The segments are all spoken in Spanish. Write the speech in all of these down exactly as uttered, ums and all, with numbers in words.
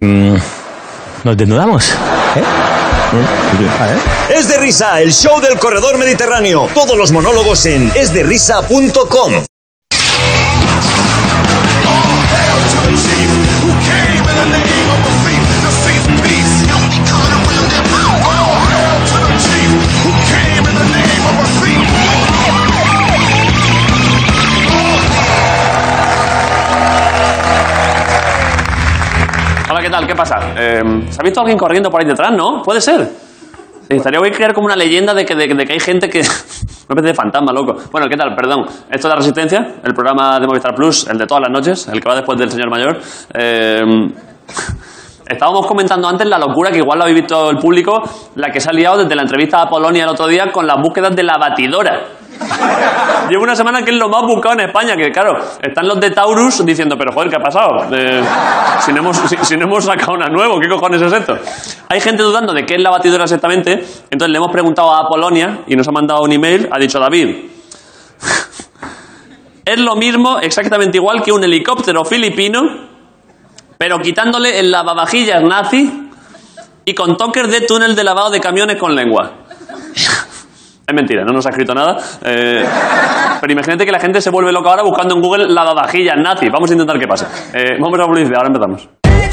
Mm, ¿Nos desnudamos? ¿Eh? A ver. Es de Risa, el show del corredor mediterráneo. Todos los monólogos en es de risa punto com. Hola, ¿qué tal? ¿Qué pasa? Eh, ¿Se ha visto alguien corriendo por ahí detrás, no? Puede ser. Sí, estaría bien crear como una leyenda de que, de, de que hay gente que... Una especie de fantasma, loco. Bueno, ¿qué tal? Perdón. Esto es La Resistencia, el programa de Movistar Plus, el de todas las noches, el que va después del señor mayor. Eh... Estábamos comentando antes la locura, que igual lo habéis visto el público, la que se ha liado desde la entrevista a Polonia el otro día con las búsquedas de la batidora. Llevo una semana que es lo más buscado en España, que claro, están los de Taurus diciendo, pero joder, ¿qué ha pasado? Eh, si, no hemos, si, si no hemos sacado una nueva, ¿qué cojones es esto? Hay gente dudando de qué es la batidora exactamente, entonces le hemos preguntado a Polonia y nos ha mandado un email, ha dicho David, es lo mismo, exactamente igual que un helicóptero filipino, pero quitándole el lavavajillas nazi y con toques de túnel de lavado de camiones con lengua. Es mentira, no nos ha escrito nada. Eh, pero imagínate que la gente se vuelve loca ahora buscando en Google lavavajillas nazi. Vamos a intentar que pase. Eh, vamos a la publicidad, ahora empezamos.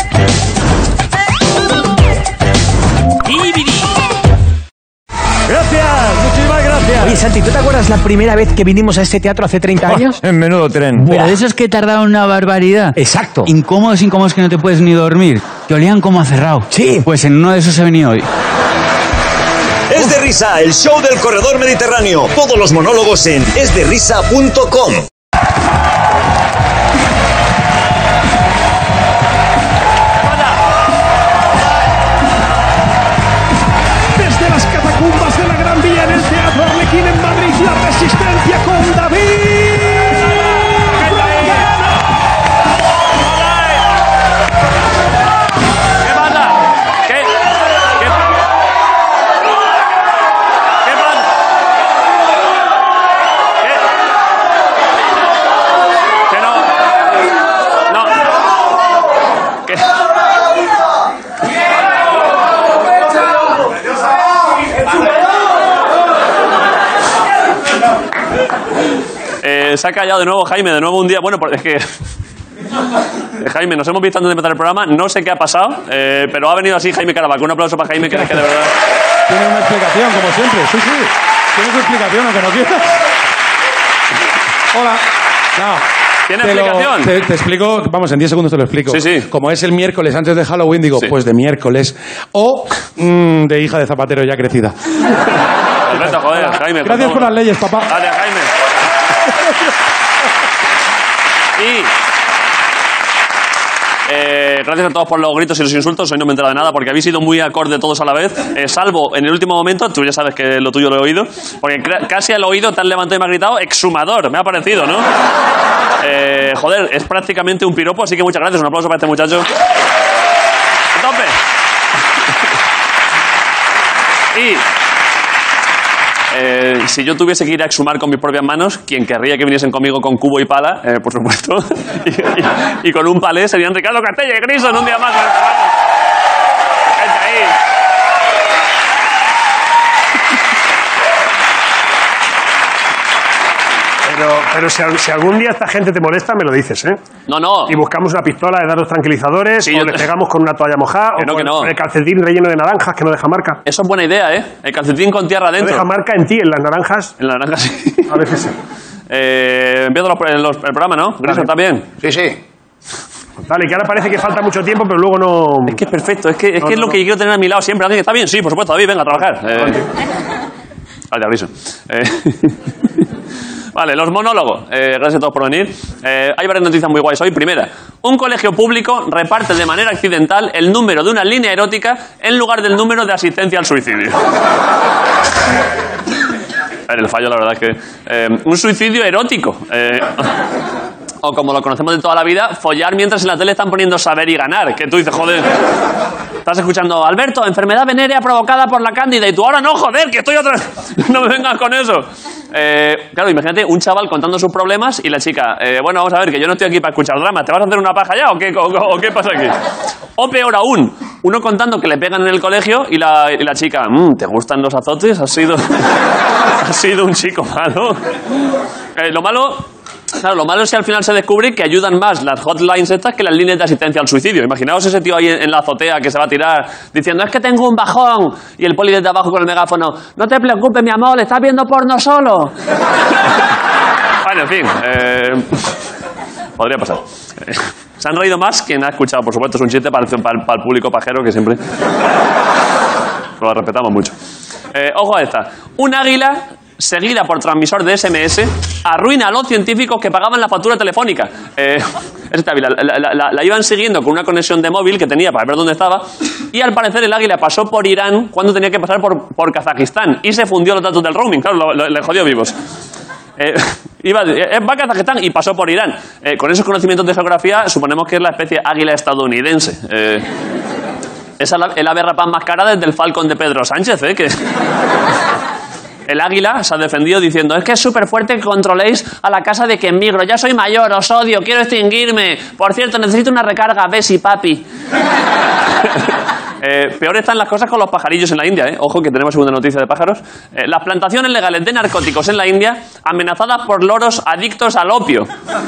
Gracias, muchísimas gracias. Oye, Santi, ¿tú te acuerdas la primera vez que vinimos a este teatro hace treinta años? En menudo tren. Pero de esos que tardaron una barbaridad. Exacto. Incómodos, incómodos que no te puedes ni dormir. Que olían como a cerrado. Sí. Pues en uno de esos he venido hoy. Es de Risa, el show del corredor mediterráneo. Todos los monólogos en es de risa punto com. Desde las catacumbas de la Gran Vía en el Teatro Arlequín en Madrid, La Resistencia con David. ¿Qué pasa? ¿Qué? ¿Qué? ¿Qué pasa? ¿Qué? ¿Qué no? No. ¿Qué? Eh, se ha callado de nuevo Jaime, de nuevo un día. Bueno, porque es que... Eh, Jaime, nos hemos visto antes de empezar el programa, no sé qué ha pasado, eh, pero ha venido así Jaime Caravaca. Un aplauso para Jaime, que es que de verdad... Tiene una explicación, como siempre. Sí, sí. Tiene su explicación, aunque no quieras. Hola. No. ¿Tiene Te lo- explicación? te, te explico, vamos, en diez segundos te lo explico. Sí, sí. Como es el miércoles antes de Halloween, digo, Sí. pues de miércoles. O mm, de hija de zapatero ya crecida. Perfecto, joder, Jaime. Gracias por las leyes, papá. Gracias, Jaime. Y... Eh, gracias a todos por los gritos y los insultos. Hoy no me he enterado de nada porque habéis sido muy acorde todos a la vez, eh, salvo en el último momento. Tú ya sabes que lo tuyo lo he oído, porque cra- casi al oído te has levantado y me has gritado exhumador, me ha parecido, ¿no? Eh, joder, es prácticamente un piropo, así que muchas gracias. Un aplauso para este muchacho. ¡A tope! Y... Eh, si yo tuviese que ir a exhumar con mis propias manos, quien querría que viniesen conmigo con cubo y pala, eh, por supuesto, y, y, y con un palé serían Ricardo Castella y Grison un día más. Gente ahí. Pero, pero si, al- si algún día esta gente te molesta, me lo dices, ¿eh? No, no. Y buscamos una pistola de dar los tranquilizadores, Sí, o yo le te- pegamos con una toalla mojada, Que o no, con que no. el calcetín relleno de naranjas que no deja marca. Eso es buena idea, ¿eh? El calcetín con tierra No dentro. deja marca en ti, en las naranjas. En la naranja, sí. A veces sí. Eh, empiezo los, los- el programa, ¿no? Grison, ¿está bien? Sí, sí. Dale, que ahora parece que falta mucho tiempo, pero luego no... Es que es perfecto, es que es, No, que es no, lo no. que quiero tener a mi lado siempre. Alguien que está bien, sí, por supuesto, David, venga a trabajar. Eh, Vale, Grison. Eh, Vale, los monólogos. Eh, gracias a todos por venir. Eh, hay varias noticias muy guays hoy. Primera, un colegio público reparte de manera accidental el número de una línea erótica en lugar del número de asistencia al suicidio. A ver, el fallo, la verdad es que... Eh, un suicidio erótico. Eh, O como lo conocemos de toda la vida, follar mientras en la tele están poniendo Saber y Ganar. Que tú dices, joder, estás escuchando, Alberto, enfermedad venérea provocada por la cándida. Y tú, ahora no, joder, que estoy otra vez. No me vengas con eso. Eh, claro, imagínate un chaval contando sus problemas y la chica, eh, bueno, vamos a ver, que yo no estoy aquí para escuchar drama. ¿Te vas a hacer una paja ya o qué, o, o, o qué pasa aquí? O peor aún, uno contando que le pegan en el colegio y la, y la chica, mmm, ¿te gustan los azotes? ¿Has sido, has sido un chico malo? Eh, lo malo... Claro, lo malo es que al final se descubre que ayudan más las hotlines estas que las líneas de asistencia al suicidio. Imaginaos ese tío ahí en, en la azotea que se va a tirar diciendo, es que tengo un bajón. Y el poli desde abajo con el megáfono, no te preocupes, mi amor, estás viendo porno solo. Bueno, en fin, eh, podría pasar. Eh, se han reído más quien ha escuchado, por supuesto, es un chiste para el, para el, para el público pajero que siempre lo respetamos mucho. Eh, ojo a esta. Un águila seguida por transmisor de ese eme ese, arruina a los científicos que pagaban la factura telefónica. Eh, esta, la, la, la, la iban siguiendo con una conexión de móvil que tenía para ver dónde estaba, y al parecer el águila pasó por Irán cuando tenía que pasar por, por Kazajistán, y se fundió los datos del roaming, claro, lo, lo, le jodió vivos. Eh, iba, eh, va a Kazajistán y pasó por Irán. Eh, con esos conocimientos de geografía, suponemos que es la especie águila estadounidense. Eh, esa es el ave rapaz más cara desde el Falcon de Pedro Sánchez, ¿eh? Que... El águila se ha defendido diciendo, es que es súper fuerte que controléis a la casa de quien migro. Ya soy mayor, os odio, quiero extinguirme. Por cierto, necesito una recarga, Bessie, papi. eh, peor están las cosas con los pajarillos en la India, ¿eh? Ojo, que tenemos segunda noticia de pájaros. Eh, las plantaciones legales de narcóticos en la India amenazadas por loros adictos al opio.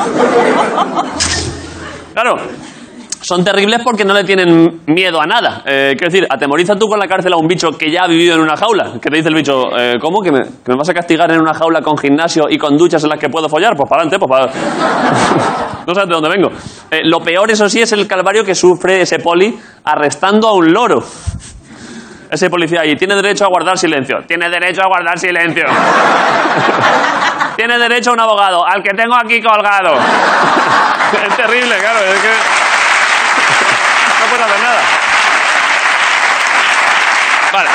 Claro. Son terribles porque no le tienen miedo a nada. Eh, quiero decir, atemoriza tú con la cárcel a un bicho que ya ha vivido en una jaula. Que te dice el bicho, eh, ¿cómo? ¿Que me, ¿Que me vas a castigar en una jaula con gimnasio y con duchas en las que puedo follar? Pues para adelante, pues para... No sabes de dónde vengo. Eh, lo peor, eso sí, es el calvario que sufre ese poli arrestando a un loro. Ese policía ahí, tiene derecho a guardar silencio. Tiene derecho a guardar silencio. Tiene derecho a un abogado, al que tengo aquí colgado. Es terrible, claro, es que... No puedo hacer nada. Vale.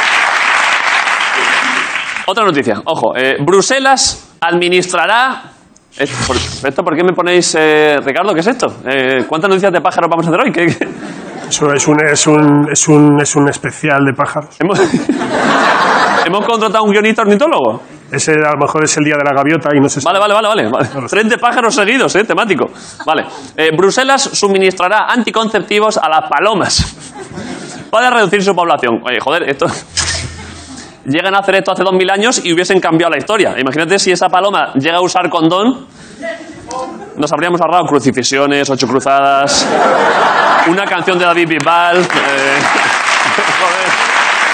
Otra noticia. Ojo. Eh, Bruselas administrará... ¿Esto por qué me ponéis, eh, Ricardo? ¿Qué es esto? Eh, ¿Cuántas noticias de pájaros vamos a hacer hoy? ¿Qué, qué? Eso es un, es, un, es, un, es un especial de pájaros. ¿Hemos, ¿Hemos contratado a un guionista ornitólogo? Ese a lo mejor es el día de la gaviota y no sé si... Vale, vale, vale, vale. vale. No Tren de pájaros seguidos, eh, temático. Vale. Eh, Bruselas suministrará anticonceptivos a las palomas para reducir su población. Oye, joder, esto... Llegan a hacer esto hace dos mil años y hubiesen cambiado la historia. Imagínate si esa paloma llega a usar condón, nos habríamos ahorrado crucifixiones, ocho cruzadas, una canción de David Bisbal... Eh... Joder...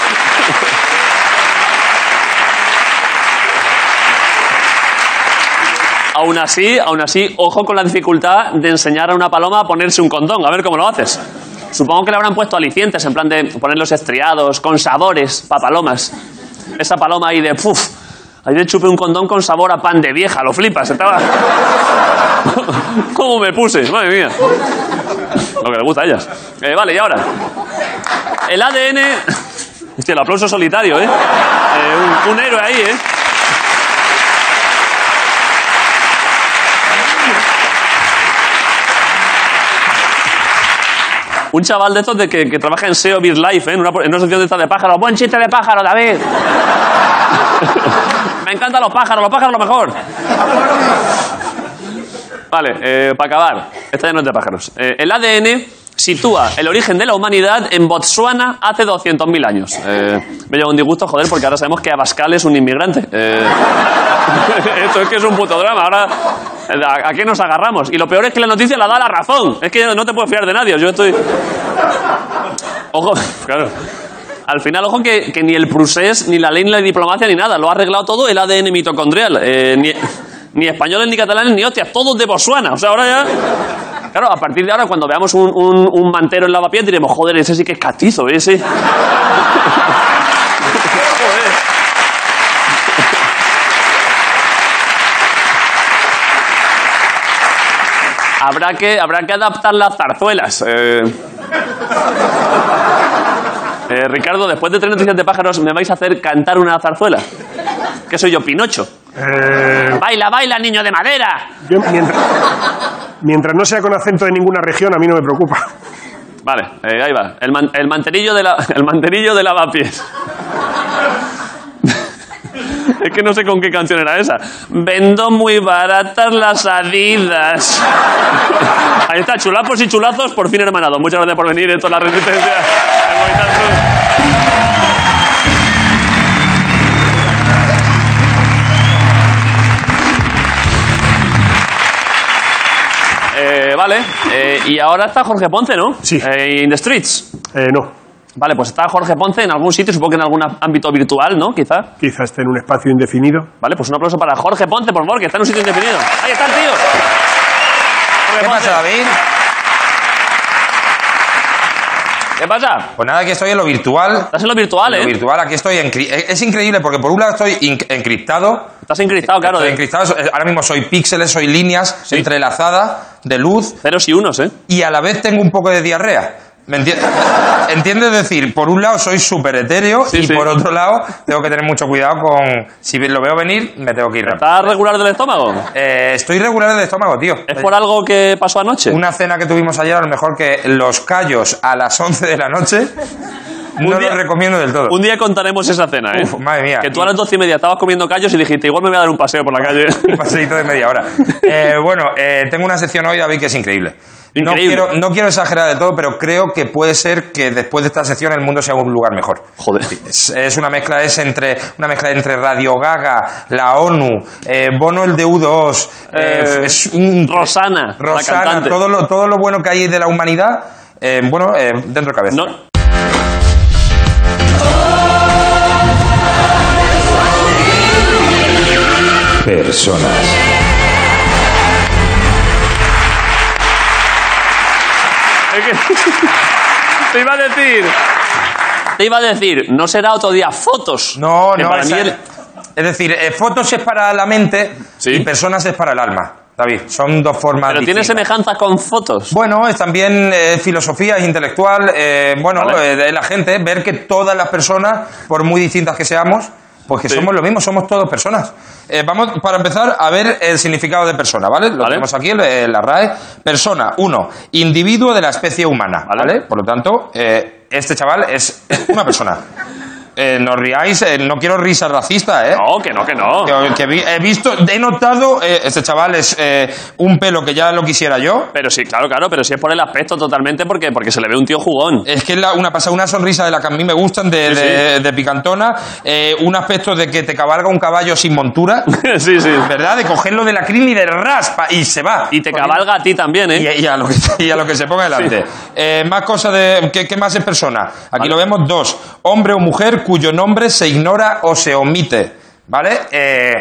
Aún así, aún así, ojo con la dificultad de enseñar a una paloma a ponerse un condón. A ver cómo lo haces. Supongo que le habrán puesto alicientes, en plan de ponerlos estriados, con sabores, para palomas. Esa paloma ahí de, puf, ahí le chupé un condón con sabor a pan de vieja, lo flipas. Estaba... ¿Cómo me puse? Madre mía. Lo que le gusta a ellas. Eh, vale, y ahora. El A D N... Hostia, el aplauso solitario, ¿eh? eh un, un héroe ahí, ¿eh? Un chaval de estos de que, que trabaja en S E O BizLife, ¿eh? en, una, en una sección de estas de pájaros. Buen chiste de pájaro, David. Me encantan los pájaros, los pájaros lo mejor. Vale, eh, para acabar. Esta ya no es de pájaros. Eh, el A D N sitúa el origen de la humanidad en Botsuana hace doscientos mil años. Eh, me lleva un disgusto, joder, porque ahora sabemos que Abascal es un inmigrante. Eh, esto es que es un puto drama. Ahora, ¿a, ¿a qué nos agarramos? Y lo peor es que la noticia la da la razón. Es que no te puedes fiar de nadie. Yo estoy... Ojo, claro. Al final, ojo, que, que ni el procés, ni la ley, ni la diplomacia, ni nada. Lo ha arreglado todo el A D N mitocondrial. Eh, ni, ni españoles, ni catalanes, ni hostias. Todos de Botsuana. O sea, ahora ya... Claro, a partir de ahora, cuando veamos un, un, un mantero en lavapiés, diremos, joder, ese sí que es castizo, ese... Joder. Habrá que, habrá que adaptar las zarzuelas. Eh... Eh, Ricardo, después de tres noticias de pájaros, ¿me vais a hacer cantar una zarzuela? ¿Qué soy yo, Pinocho? Eh... ¡Baila, baila, niño de madera! Yo, mientras... Mientras no sea con acento de ninguna región, a mí no me preocupa. Vale, eh, ahí va. El, man, el manterillo de la, el manterillo de lavapiés. Es que no sé con qué canción era esa. Vendo muy baratas las Adidas. Ahí está, chulapos y chulazos, por fin hermanado. Muchas gracias por venir. Esto es La Resistencia. Eh, vale, eh, y ahora está Jorge Ponce, ¿no? Sí. Eh, in the streets. Eh, no. Vale, pues está Jorge Ponce en algún sitio, supongo que en algún ámbito virtual, ¿no? Quizá. Quizá esté en un espacio indefinido. Vale, pues un aplauso para Jorge Ponce, por favor, que está en un sitio indefinido. Ahí está el tío. Jorge ¿Qué Ponce. pasa, David? ¿Qué pasa? Pues nada, aquí estoy en lo virtual. Estás en lo virtual, En ¿eh? lo virtual, aquí estoy. Encri- es increíble porque por un lado estoy in- encriptado. Estás encriptado, claro. Estoy De encriptado. Ahora mismo soy píxeles, soy líneas Sí. entrelazadas de luz ceros y unos, ¿eh? y a la vez tengo un poco de diarrea. ¿Me enti- ¿Entiendes? Es decir, por un lado soy súper etéreo Sí, y sí. por otro lado tengo que tener mucho cuidado con... Si lo veo venir, me tengo que ir rápido. ¿Estás regular del estómago? Eh, estoy regular del estómago, tío. ¿Es por algo que pasó anoche? Una cena que tuvimos ayer, a lo mejor que los callos a las once de la noche, no día- lo recomiendo del todo. Un día contaremos esa cena, ¿eh? Uf, madre mía. Que tú a las doce y media estabas comiendo callos y dijiste, igual me voy a dar un paseo por la calle. Un paseíto de media hora. Eh, bueno, eh, tengo una sección hoy, David, que es increíble. No Increíble. quiero, no quiero exagerar de todo, pero creo que puede ser que después de esta sección el mundo sea un lugar mejor. Joder. Es, es una mezcla es entre una mezcla entre Radio Gaga, la ONU, eh, Bono el de U dos, eh, Eh, es un, Rosana, la Rosana, cantante. todo lo, todo lo bueno que hay de la humanidad, eh, bueno, eh, dentro de cabeza. No. Personas. Es que- te iba a decir... Te iba a decir, no será otro día fotos. No, Que no, para esa- mí el- es decir, eh, fotos es para la mente Sí. y personas es para el alma, David. Son dos formas Pero tiene distintas. semejanza con fotos. Bueno, es también eh, filosofía, es intelectual, eh, bueno, Vale. eh, de la gente, ver que todas las personas, por muy distintas que seamos, pues que Sí. somos lo mismo, somos todos personas. Eh, vamos, para empezar, a ver el significado de persona, ¿vale? Lo Vale. tenemos aquí en eh, la R A E. Persona, uno, individuo de la especie humana, Vale. ¿vale? Por lo tanto, eh, este chaval es una persona. Eh, no riáis, eh, no quiero risas racistas, ¿eh? No, que no, que no. Que, que vi- he visto, he notado, eh, este chaval es eh, un pelo que ya lo quisiera yo. Pero sí, claro, claro, pero sí es por el aspecto totalmente porque, porque se le ve un tío jugón. Es que es la- una pasa una sonrisa de la que a mí me gustan, de, Sí, de- de picantona, eh, un aspecto de que te cabalga un caballo sin montura, sí, sí. ¿verdad? De cogerlo de la crin y de raspa y se va. Y te Porque- cabalga a ti también, ¿eh? Y, y a lo que, y a lo que se ponga delante. Eh, más cosas de... ¿qué, qué más es persona? Aquí Vale. lo vemos dos. Hombre o mujer cuyo nombre se ignora o se omite. ¿Vale? Eh,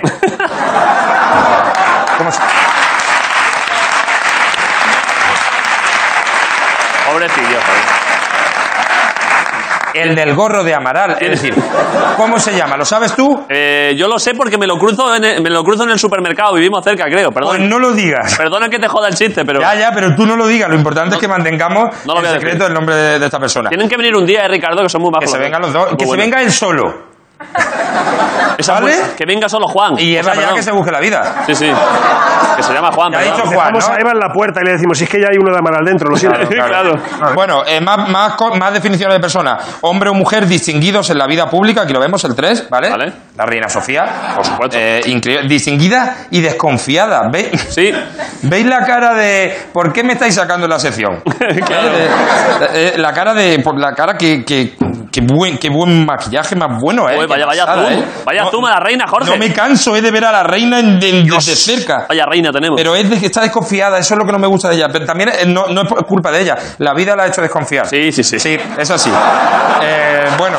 ¿Cómo se...? Pobrecillo, joder. El del gorro de Amaral. Es decir, ¿cómo se llama? ¿Lo sabes tú? Eh, yo lo sé porque me lo cruzo en el, me lo cruzo en el supermercado. Vivimos cerca, creo. Pues Perdón. no lo digas. Perdona que te joda el chiste, pero... Ya, ya, pero tú no lo digas. Lo importante es que mantengamos no lo voy el a secreto decir. del nombre de, de esta persona. Tienen que venir un día, eh, Ricardo, que son muy Que majos. se vengan los dos. Muy Que se buenos. venga él solo. Esa ¿vale? fue- Que venga solo Juan. Y O Eva sea, ya perdón. que se busque la vida. Sí, sí. Que se llama Juan, Ya ha perdón. dicho Juan, Dejamos ¿no? a Eva en la puerta y le decimos, si es que ya hay uno de Amaral dentro, lo siento. Claro. Bueno, eh, más, más, co- más definiciones de persona. Hombre o mujer distinguidos en la vida pública. Aquí lo vemos, el tres, ¿vale? Vale. La reina Sofía. Por supuesto. Eh, increíble. Distinguida y desconfiada. ¿Veis? Sí. ¿Veis la cara de... ¿Por qué me estáis sacando en la sección? Claro. Eh, eh, eh, la cara de... Por la cara que... que Qué buen, qué buen maquillaje más bueno, ¿eh? Uy, vaya, Qué vaya pasada, zoom. ¿eh? Vaya No- zoom a la reina, Jorge. No me canso, eh, de ver a la reina en- de- desde cerca. Vaya reina tenemos. Pero es de que está desconfiada, eso es lo que no me gusta de ella. Pero también eh, no, no es por culpa de ella. La vida la ha hecho desconfiar. Sí, sí, sí. Sí, es así. Eh, bueno.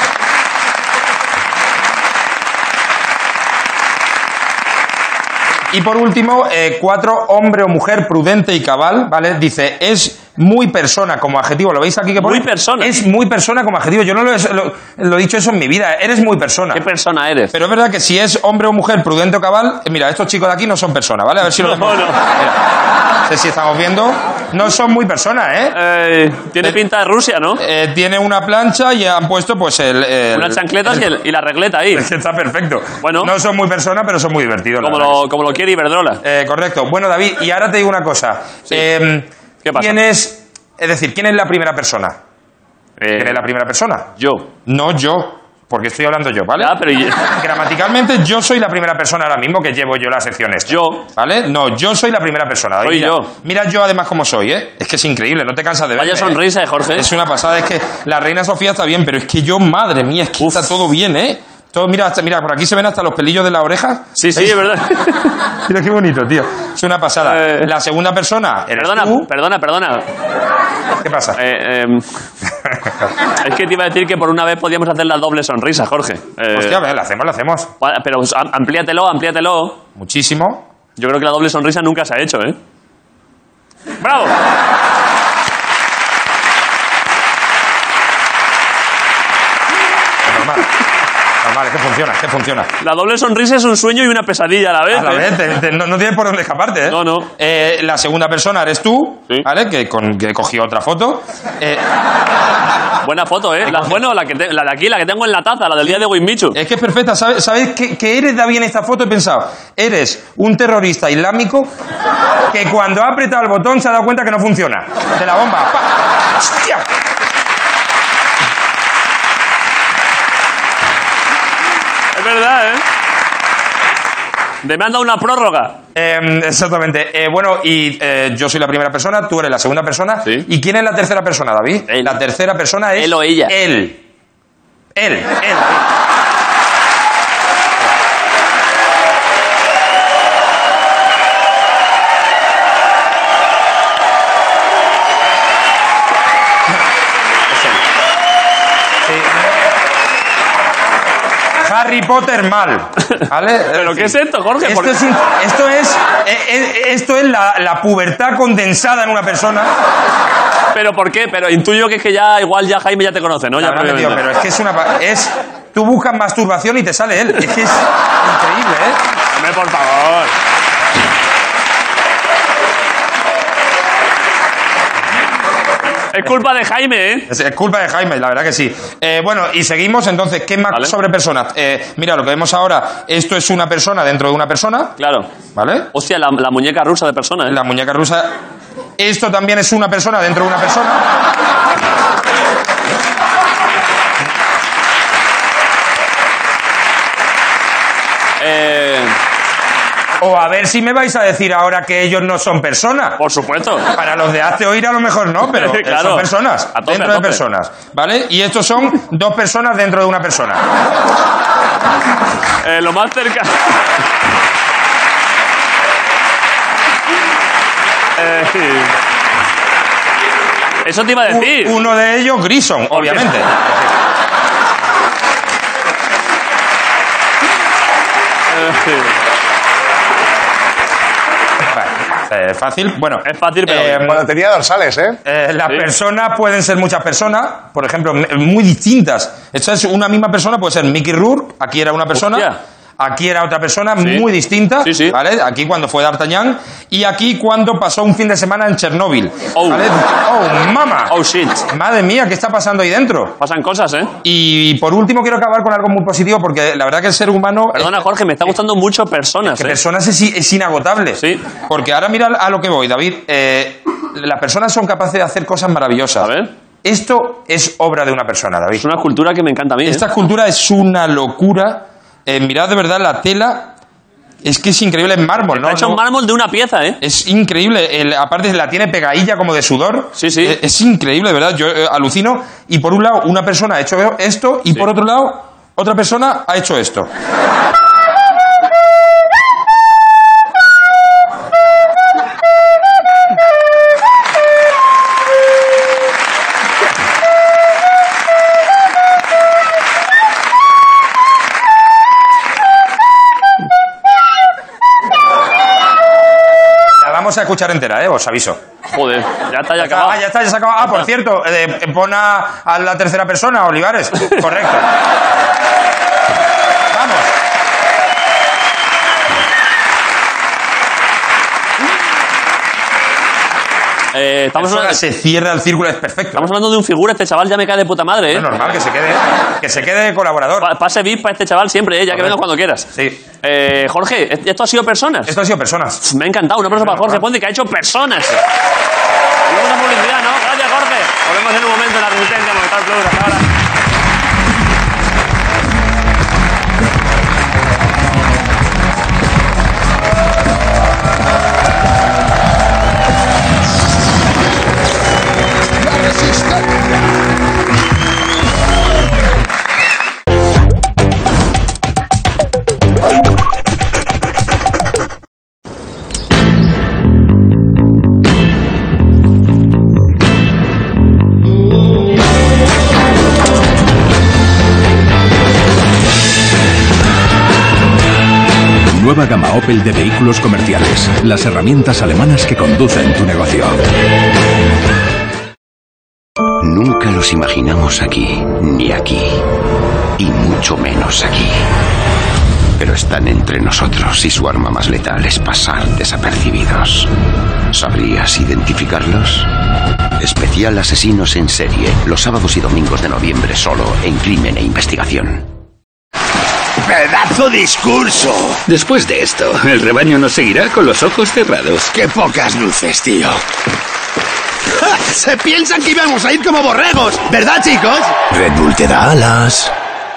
Y por último, eh, cuatro, hombre o mujer prudente y cabal, ¿vale? Dice, es muy persona como adjetivo. ¿Lo veis aquí que pone? Muy persona. Es muy persona como adjetivo. Yo no lo he, lo- lo he dicho eso en mi vida. Eres muy persona. ¿Qué persona eres? Pero es verdad que si es hombre o mujer prudente o cabal, eh, mira, estos chicos de aquí no son personas, ¿vale? A ver si lo No, vemos. no. Mira, no sé si estamos viendo. no son muy personas, ¿eh? eh tiene pinta de Rusia, ¿no? Eh, tiene una plancha y han puesto pues el... el Unas chancletas el, y, el, y la regleta ahí. Es que está perfecto. Bueno. No son muy personas, pero son muy divertidos. Como, lo, como lo quiere Iberdrola. Eh, correcto. Bueno, David, y ahora te digo una cosa. Sí. Eh, ¿Qué pasa? ¿Quién es, es decir, quién es la primera persona? Eh, ¿Quién es la primera persona? Yo. No yo. Porque estoy hablando yo, ¿vale? Ya, pero yo... Gramaticalmente, yo soy la primera persona ahora mismo que llevo yo las secciones. Yo. ¿Vale? No, yo soy la primera persona. Soy mira, yo. Mira yo además cómo soy, ¿eh? Es que es increíble, no te cansas de verme. Vaya sonrisa, ¿eh, Jorge? Es una pasada, es que la reina Sofía está bien, pero es que yo, madre mía, es que Uf. está todo bien, ¿eh? Todo, mira, hasta, mira, por aquí se ven hasta los pelillos de la oreja. Sí, sí, es verdad. Mira qué bonito, tío. Es una pasada. Eh, la segunda persona eres Perdona, tú. perdona, perdona. ¿Qué pasa? Eh, eh, es que te iba a decir que por una vez podíamos hacer la doble sonrisa, Jorge. Eh, Hostia, la hacemos, la hacemos. Pero amplíatelo, amplíatelo. Muchísimo. Yo creo que la doble sonrisa nunca se ha hecho, ¿eh? ¡Bravo! Normal. Normal, es que funciona, es que funciona. La doble sonrisa es un sueño y una pesadilla a la vez. A la ¿eh? vez, te, te, no, no tienes por dónde escaparte, ¿eh? No, no. Eh, la segunda persona eres tú, ¿Sí? ¿vale? Que, con, que cogí otra foto. Eh, Buena foto, ¿eh? La, bueno, la, que te, la de aquí, la que tengo en la taza, la del día de Wismichu. Es que es perfecta. ¿Sabes, ¿sabes qué, qué eres, David, en esta foto? He pensado, eres un terrorista islámico que cuando ha apretado el botón se ha dado cuenta que no funciona. De la bomba. ¡Pa! ¡Hostia! Es verdad, ¿eh? De me han dado una prórroga. Eh, exactamente. Eh, bueno, y eh, yo soy la primera persona, tú eres la segunda persona. ¿Sí? ¿Y quién es la tercera persona, David? Él. La tercera persona es... Él o ella. Él. Él. Él, David. Harry Potter mal, ¿vale? ¿Pero qué es esto, Jorge? Esto es, esto es, esto es la, la pubertad condensada en una persona. ¿Pero por qué? Pero intuyo que es que ya, igual ya Jaime ya te conoce, ¿no? Ya vale, tío, pero es que es una... Es, tú buscas masturbación y te sale él. Es que es increíble, ¿eh? Hombre, por favor. Es culpa de Jaime, ¿eh? Es, es culpa de Jaime, la verdad que sí. Eh, bueno, y seguimos, entonces, ¿qué más ¿Vale? sobre personas? Eh, mira, lo que vemos ahora, esto es una persona dentro de una persona. Claro. ¿Vale? Hostia, la, la muñeca rusa de persona, ¿eh? La muñeca rusa. Esto también es una persona dentro de una persona. Eh... O a ver si me vais a decir ahora que ellos no son personas. Por supuesto. Para los de Hazte Oír a lo mejor no, pero claro. son personas. A tope, dentro a de tope. personas. ¿Vale? Y estos son dos personas dentro de una persona. Eh, lo más cerca... eh, sí. Eso te iba a decir. Uno de ellos, Grison, obviamente. Eh, sí. Eh, fácil, bueno. Es fácil, pero... Eh, Bueno, tenía dorsales, ¿eh? Eh, las Sí. personas pueden ser muchas personas, por ejemplo, m- muy distintas. Esto es una misma persona, puede ser Mickey Rourke, aquí era una persona, Hostia. aquí era otra persona Sí. muy distinta, Sí, sí. ¿vale? Aquí cuando fue D'Artagnan y aquí cuando pasó un fin de semana en Chernóbil. Oh. ¿Vale? Oh, mama. Oh, shit. Madre mía, ¿qué está pasando ahí dentro? Pasan cosas, ¿eh? Y por último quiero acabar con algo muy positivo porque la verdad que el ser humano... Perdona, Jorge, me está gustando mucho personas, Que ¿eh? personas es, es inagotable. Sí. Porque ahora mira a lo que voy, David. Eh, las personas son capaces de hacer cosas maravillosas. A ver. Esto es obra de una persona, David. Es una escultura que me encanta a mí, ¿eh? Esta escultura es una locura. Eh, mirad de verdad la tela. Es que es increíble, es mármol, ¿no? Está hecho No- un mármol de una pieza, ¿eh? Es increíble. El- aparte la tiene pegadilla como de sudor. Sí, sí. Eh, es increíble, de verdad. Yo eh, alucino. Y por un lado, una persona ha hecho esto. Y Sí. por otro lado, otra persona ha hecho esto. La vamos a escuchar entera, ¿eh? Os aviso. Joder, ya está, ya acabado. Ah, ya está, ya se ha acabado. Ah, por cierto, eh, pon a, a la tercera persona, Olivares. Correcto. Vamos. Eh, estamos Eso hablando, se cierra el círculo, es perfecto. estamos hablando de un figura, este chaval ya me cae de puta madre, ¿eh? Es normal que se quede, que se quede de colaborador. Pa- Pase V I P para este chaval siempre, ¿eh? Ya que venga cuando quieras. Sí. Eh, Jorge, ¿esto ha sido personas? Esto ha sido personas. Me ha encantado. Un aplauso para Jorge Ponte, que ha hecho personas. Y luego una publicidad, ¿no? Gracias, Jorge. Volvemos en un momento en la Resistencia, Movistar Plus. Hasta ahora. Nueva gama Opel de vehículos comerciales. Las herramientas alemanas que conducen tu negocio. Nunca los imaginamos aquí, ni aquí, y mucho menos aquí. Pero están entre nosotros y su arma más letal es pasar desapercibidos. ¿Sabrías identificarlos? Especial Asesinos en Serie, los sábados y domingos de noviembre solo en Crimen e Investigación. ¡Pedazo discurso! Después de esto, el rebaño nos seguirá con los ojos cerrados. ¡Qué pocas luces, tío! ¡Ja! Se piensan que íbamos a ir como borregos, ¿verdad, chicos? Red Bull te da alas.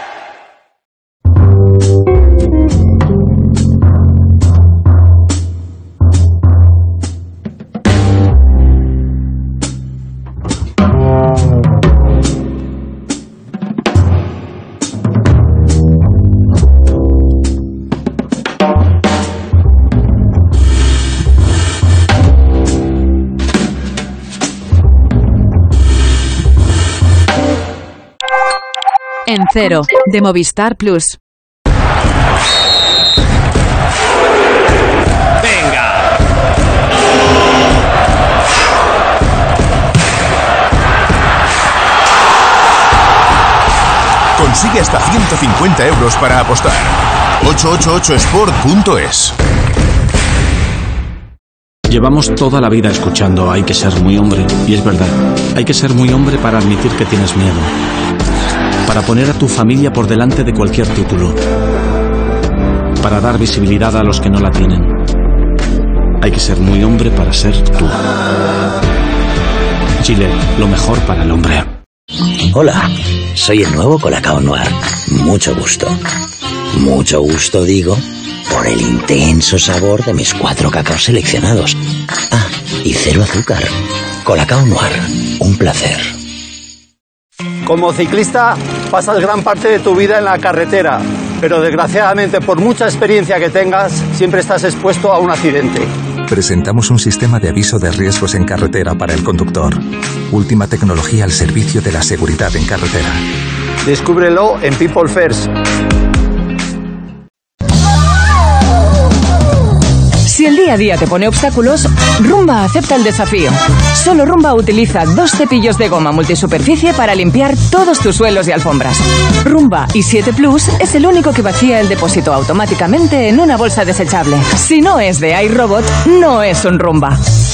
En Cero, de Movistar Plus. ¡Venga! Consigue hasta ciento cincuenta euros para apostar. ocho ocho ocho sport punto es. Llevamos toda la vida escuchando hay que ser muy hombre, y es verdad, hay que ser muy hombre para admitir que tienes miedo, para poner a tu familia por delante de cualquier título, para dar visibilidad a los que no la tienen. Hay que ser muy hombre para ser tú. Chile, lo mejor para el hombre. Hola, soy el nuevo Colacao Noir. Mucho gusto. Mucho gusto, digo, por el intenso sabor de mis cuatro cacaos seleccionados. Ah, y cero azúcar. Colacao Noir, un placer. Como ciclista, pasas gran parte de tu vida en la carretera, pero desgraciadamente, por mucha experiencia que tengas, siempre estás expuesto a un accidente. Presentamos un sistema de aviso de riesgos en carretera para el conductor. Última tecnología al servicio de la seguridad en carretera. Descúbrelo en People First. Si el día a día te pone obstáculos, Rumba acepta el desafío. Solo Rumba utiliza dos cepillos de goma multisuperficie para limpiar todos tus suelos y alfombras. Rumba i siete Plus es el único que vacía el depósito automáticamente en una bolsa desechable. Si no es de iRobot, no es un Rumba.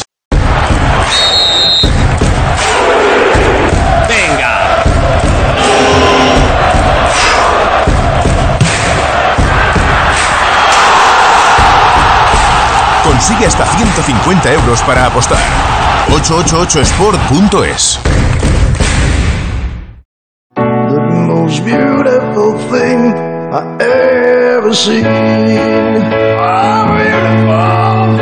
Consigue hasta ciento cincuenta euros para apostar. ocho ocho ocho sport punto es. The most beautiful thing I ever seen. Oh, beautiful,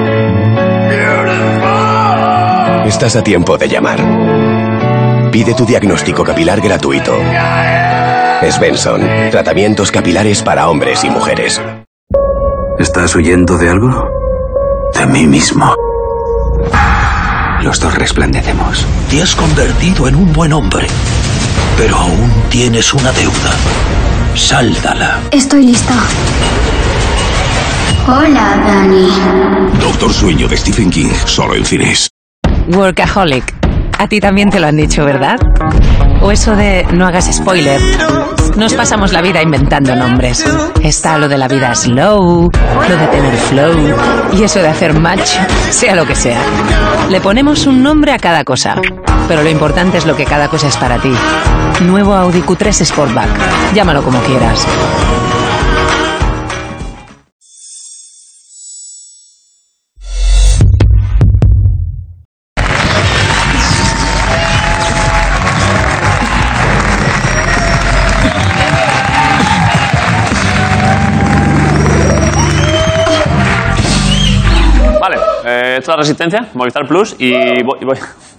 beautiful. Estás a tiempo de llamar. Pide tu diagnóstico capilar gratuito. Svensson, tratamientos capilares para hombres y mujeres. ¿Estás huyendo de algo? De mí mismo. Los dos resplandecemos. Te has convertido en un buen hombre, pero aún tienes una deuda. Sáldala. Estoy lista. Hola, Dani. Doctor Sueño de Stephen King, solo en cines. Workaholic. A ti también te lo han dicho, ¿verdad? O eso de no hagas spoiler. Nos pasamos la vida inventando nombres. Está lo de la vida slow, lo de tener flow y eso de hacer match, sea lo que sea. Le ponemos un nombre a cada cosa, pero lo importante es lo que cada cosa es para ti. Nuevo Audi Q tres Sportback. Llámalo como quieras. Eh, esto es la Resistencia, Movistar Plus y voy, y voy.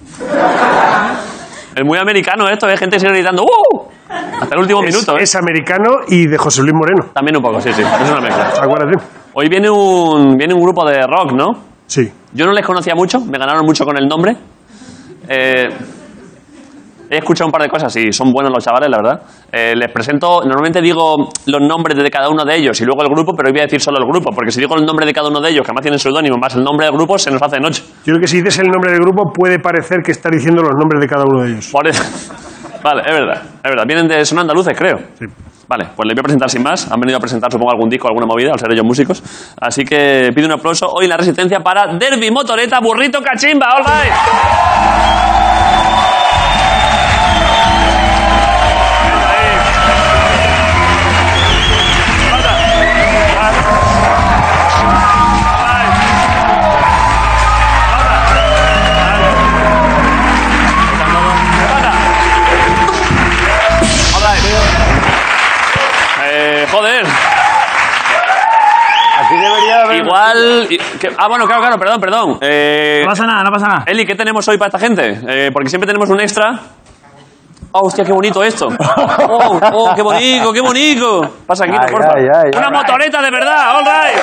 Es muy americano esto, hay gente que sigue gritando ¡uh! Hasta el último es, minuto. ¿eh? Es americano y de José Luis Moreno. También un poco, sí, sí, es una mezcla. Acuérdate. Hoy viene un, viene un grupo de rock, ¿no? Sí. Yo no les conocía mucho, me ganaron mucho con el nombre. Eh, he escuchado un par de cosas y son buenos los chavales, la verdad. Eh, les presento, normalmente digo los nombres de cada uno de ellos y luego el grupo, pero hoy voy a decir solo el grupo, porque si digo el nombre de cada uno de ellos, que además tienen seudónimo, más el nombre del grupo, se nos hace de noche. Yo creo que si dices el nombre del grupo puede parecer que estás diciendo los nombres de cada uno de ellos. Por eso. Vale, es verdad, es verdad. Vienen de, son andaluces, creo. Sí. Vale, pues les voy a presentar sin más. Han venido a presentar, supongo, algún disco, alguna movida, al ser ellos músicos. Así que pido un aplauso hoy en la Resistencia para Derby Motoreta Burrito Cachimba. All right. Joder. Aquí debería haber... Igual... Que, ah, bueno, claro, claro, perdón, perdón. Eh, No pasa nada, no pasa nada. Eli, ¿qué tenemos hoy para esta gente? Eh, porque siempre tenemos un extra. Oh, hostia, qué bonito esto. Oh, oh, qué bonito, qué bonito. Pasa aquí, por favor. Una all motoreta de verdad, all right.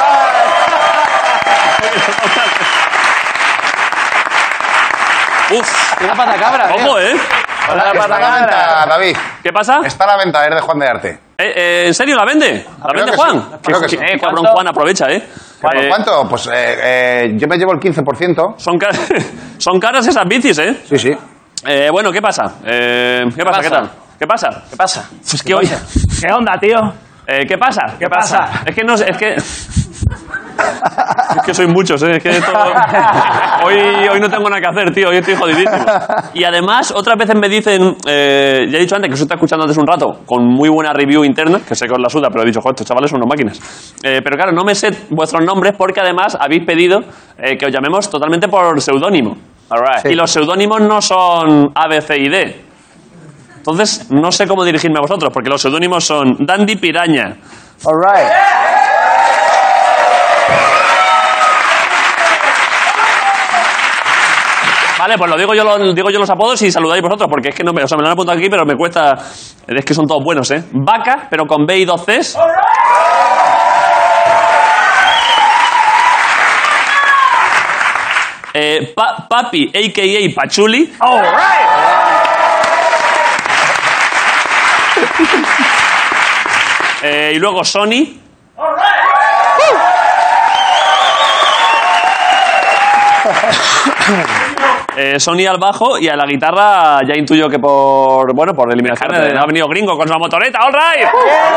Uf, una patacabra. Ojo, ¿eh? Hola, está a la venta, David. ¿Qué pasa? Está a la venta, es de Juan de Arte. Eh, eh, ¿En serio la vende? ¿La Creo vende que Juan? sí, creo que sí. Eh, cabrón, Juan, aprovecha, ¿eh? ¿Por Eh, cuánto? Pues eh, eh, yo me llevo el quince por ciento. Son, car- son caras esas bicis, ¿eh? Sí, sí. Eh, bueno, ¿qué pasa? Eh, ¿Qué, pasa? ¿Qué tal? ¿Qué pasa? ¿Qué pasa? Es que hoy... ¿Qué onda, tío? Eh, ¿Qué pasa? ¿Qué pasa? Es que no sé, es que... Es que sois muchos, ¿eh? Es que todo... hoy, hoy no tengo nada que hacer, tío. Hoy estoy jodidísimo. Y además, otras veces me dicen... Eh, ya he dicho antes que os está escuchando antes un rato con muy buena review interna, que sé que os la suda, pero he dicho, joder, estos chavales son unas máquinas. Eh, pero claro, no me sé vuestros nombres porque además habéis pedido eh, que os llamemos totalmente por seudónimo. Alright. Y los seudónimos no son A, B, C y D. Entonces, no sé cómo dirigirme a vosotros, porque los seudónimos son Dandy Piraña. All right. Vale, pues lo digo yo, lo, digo yo los apodos y saludáis vosotros, porque es que no me, o sea, me lo han apuntado aquí, pero me cuesta... Es que son todos buenos, ¿eh? Vaca, pero con B y dos Cs. Eh, pa, papi, a k a. Pachuli. All right. Eh, y luego Sony. All right. Eh, Sony al bajo y a la guitarra ya intuyo que por, bueno, por eliminación Descarte, ¿no? ha venido Gringo con su motoreta. All right.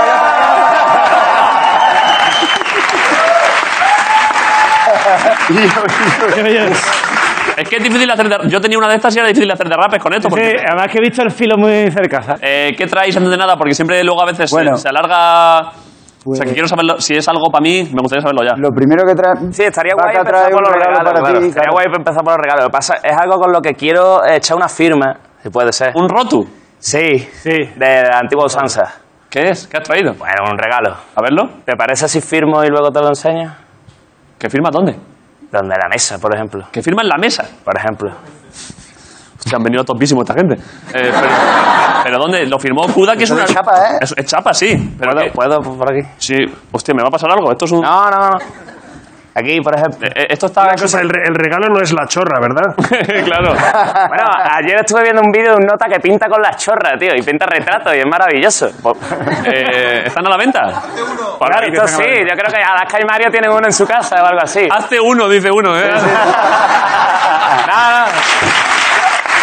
Es que es difícil hacer de, yo tenía una de estas y era difícil hacer de rapes con esto. Porque, Sí, además que he visto el filo muy cerca, ¿sabes? eh, ¿Qué traéis antes de nada? Porque siempre luego a veces Bueno. se, se alarga... Pues- o sea, que quiero saberlo. Si es algo para mí, me gustaría saberlo ya. Lo primero que trae... Sí, estaría Vaca guay empezar trae por un los regalo regalos. para claro. ti, Estaría claro. guay empezar por los regalos. Lo que pasa es algo con lo que quiero echar una firma, si puede ser. ¿Un rotu? Sí, Sí. de la antigua usanza. ¿Qué es? ¿Qué has traído? Bueno, un regalo. A verlo. ¿Te parece si firmo y luego te lo enseño? ¿Que firma dónde? Donde la mesa, por ejemplo. ¿Que firma en la mesa? Por ejemplo. Hostia, han venido topísimos esta gente. Eh, pero, ¿Pero dónde? ¿Lo firmó Kuda? Que es Eso una... es chapa, ¿eh? Es, es chapa, sí. Pero ¿Puedo, que- ¿Puedo por aquí? Sí. Hostia, ¿me va a pasar algo? Esto es un... No, no, no. Aquí, por ejemplo. Eh, eh, esto está... Una cosa, el, re- el regalo no es la chorra, ¿verdad? Claro. Bueno, ayer estuve viendo un vídeo de un nota que pinta con las chorras, tío, y pinta retratos, y es maravilloso. Eh, ¿Están a la venta? Pues Claro, esto sí, yo creo que Alaska y Mario tienen uno en su casa o algo así. Hazte uno, dice uno, ¿eh? No, no.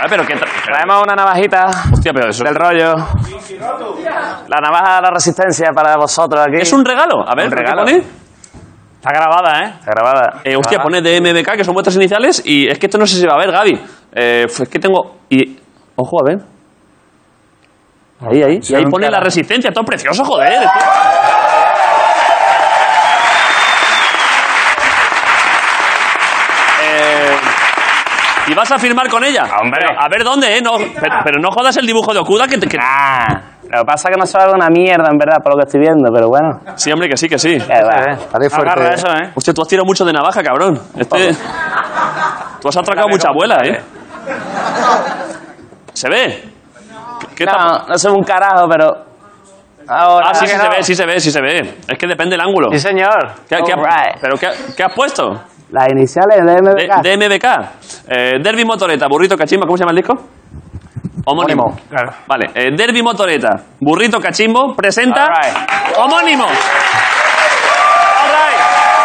ver, pero que... Traemos una navajita. Hostia, pero eso... Del rollo. La navaja de la resistencia para vosotros aquí. ¿Es un regalo? A ver, ¿qué pone? Está grabada, ¿eh? Está grabada. Eh, hostia, pone D M B K, que son vuestras iniciales, y es que esto no sé si va a ver, Gaby. Eh, es que tengo... Y... Ojo, a ver. Ahí, ahí. Y ahí pone la resistencia, todo precioso, joder. Es que... eh... ¿Y vas a firmar con ella? Hombre. Pero, a ver dónde, ¿eh? No, pero, pero no jodas el dibujo de Okuda que te... Que... Ah, lo que pasa es que no sabe una mierda, en verdad, por lo que estoy viendo, pero bueno. Sí, hombre, que sí, que sí. Eh, va. Agarra eso, ¿eh? Hostia, tú has tirado mucho de navaja, cabrón. Este... Tú has atracado mucha abuela, ¿eh? ¿Se ve? ¿Qué no, tapa? no se ve un carajo, pero... Ahora, ah, sí, sí no. se ve, sí se ve, sí se ve. Es que depende del ángulo. Sí, señor. ¿Qué, qué ha, right. ¿Pero qué, qué has puesto? Las iniciales de D M B K. D M B K. Eh, Derby Motoreta, Burrito Cachimbo. ¿Cómo se llama el disco? Homónimo. Homónimo. Claro. Vale. Eh, Derby Motoreta, Burrito Cachimbo presenta right. Homónimo. All right.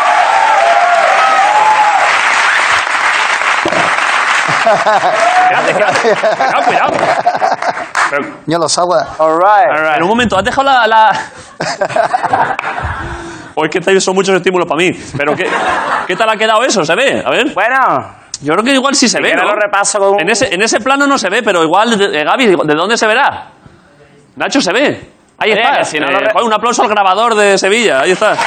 Espérate, espérate. Cuidado, cuidado. Pero, Yo los agua. All right. All right. En un momento, ¿has dejado la...? la... o es que estáis- son muchos estímulos para mí. Pero ¿qué, ¿qué tal ha quedado eso? ¿Se ve? A ver. Bueno. Yo creo que igual sí se Si ve, quieres ¿no? lo repaso con... En ese, en ese plano no se ve, pero igual, eh, Gaby, ¿de dónde se verá? Nacho, ¿se ve? Ahí Oye, está. que si no Eh, lo re- Juan, un aplauso al grabador de Sevilla. Ahí está.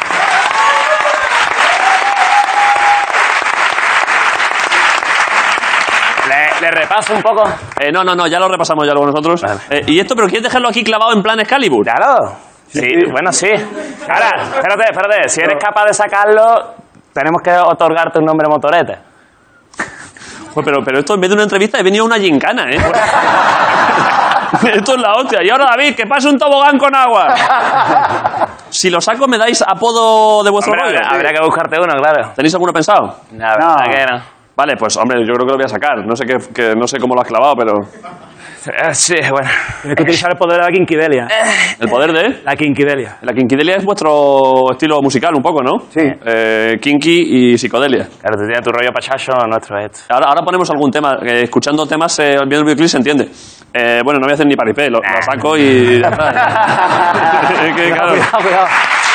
Le, le repaso un poco. Eh, no, no, no, ya lo repasamos ya luego nosotros. Eh, ¿Y esto, pero quieres dejarlo aquí clavado en plan Excalibur? Claro. Sí, bueno, sí. Ahora, espérate, espérate. Si eres capaz de sacarlo, tenemos que otorgarte un nombre motorete. Pues, pero, pero esto en vez de una entrevista he venido a una gincana, ¿eh? Esto es la hostia. Y ahora, David, que pase un tobogán con agua. Si lo saco, ¿me dais apodo de vuestro Hombre, rollo? habría que buscarte uno, claro. ¿Tenéis alguno pensado? No, la verdad que no. Vale, pues hombre, yo creo que lo voy a sacar. No sé qué, que, no sé cómo lo has clavado, pero... Eh, Sí, bueno. Tienes que utilizar el poder de la quinquidelia. ¿El poder de...? La quinquidelia. La quinquidelia es vuestro estilo musical un poco, ¿no? Sí. Eh, kinky y psicodelia. Claro, tú tienes tu rollo pachacho, nuestro es esto. Ahora, ahora ponemos algún tema. Eh, escuchando temas, eh, viendo el videoclip se entiende. Eh, bueno, no voy a hacer ni paripé, lo, lo saco y ya está. Es que, claro. Cuidado, cuidado.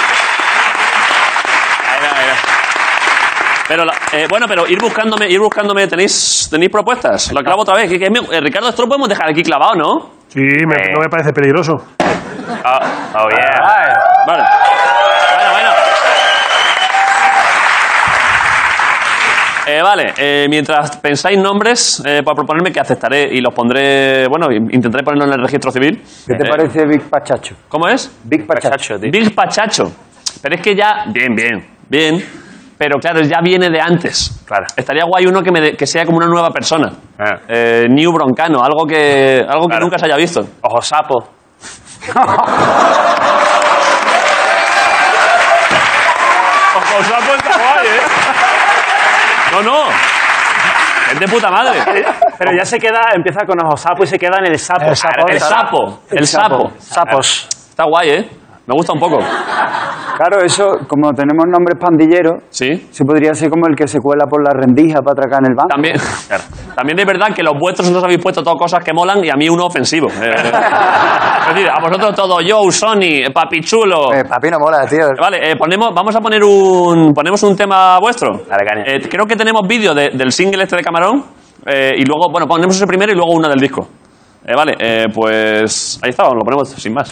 Ahí va, ahí va. Pero, la- eh, bueno, pero ir buscándome, ir buscándome, ¿tenéis, tenéis propuestas? Lo clavo otra vez. Que, que, eh, Ricardo, esto lo podemos dejar aquí clavado, ¿no? Sí, me- Eh. no me parece peligroso. Oh, oh yeah. Vale. Bueno, bueno. Eh, vale, eh, mientras pensáis nombres eh, para proponerme, que aceptaré y los pondré, bueno, intentaré ponerlo en el registro civil. ¿Qué te Eh, parece Big Pachacho? ¿Cómo es? Big Pachacho. Pachacho, tío. Big Pachacho. Pero es que ya... Bien, bien, bien. Pero claro, ya viene de antes. Claro. Estaría guay uno que, me de- que sea como una nueva persona. Ah. Eh, New Broncano, algo que, algo que Claro. nunca se haya visto. Ojo sapo. Ojo sapo está guay, ¿eh? No, no. Es de puta madre. Pero ya se queda, empieza con ojo sapo y se queda en el sapo. El sapo. El sapo. El sapo. Sapos. Está guay, ¿eh? Me gusta un poco. Claro, eso, como tenemos nombres pandilleros, Sí. se podría ser como el que se cuela por la rendija para atracar en el banco. También, también es verdad que los vuestros os habéis puesto todas cosas que molan y a mí uno ofensivo. Eh, es decir, a vosotros todo, Joe, Sony, Papichulo. Eh, papi no mola, tío. Vale, eh, ponemos, vamos a poner un, ponemos un tema vuestro. Dale, caña. Eh, creo que tenemos vídeo de- del single este de Camarón eh, y luego, bueno, ponemos ese primero y luego una del disco. Eh, vale, eh, pues ahí está, lo ponemos sin más.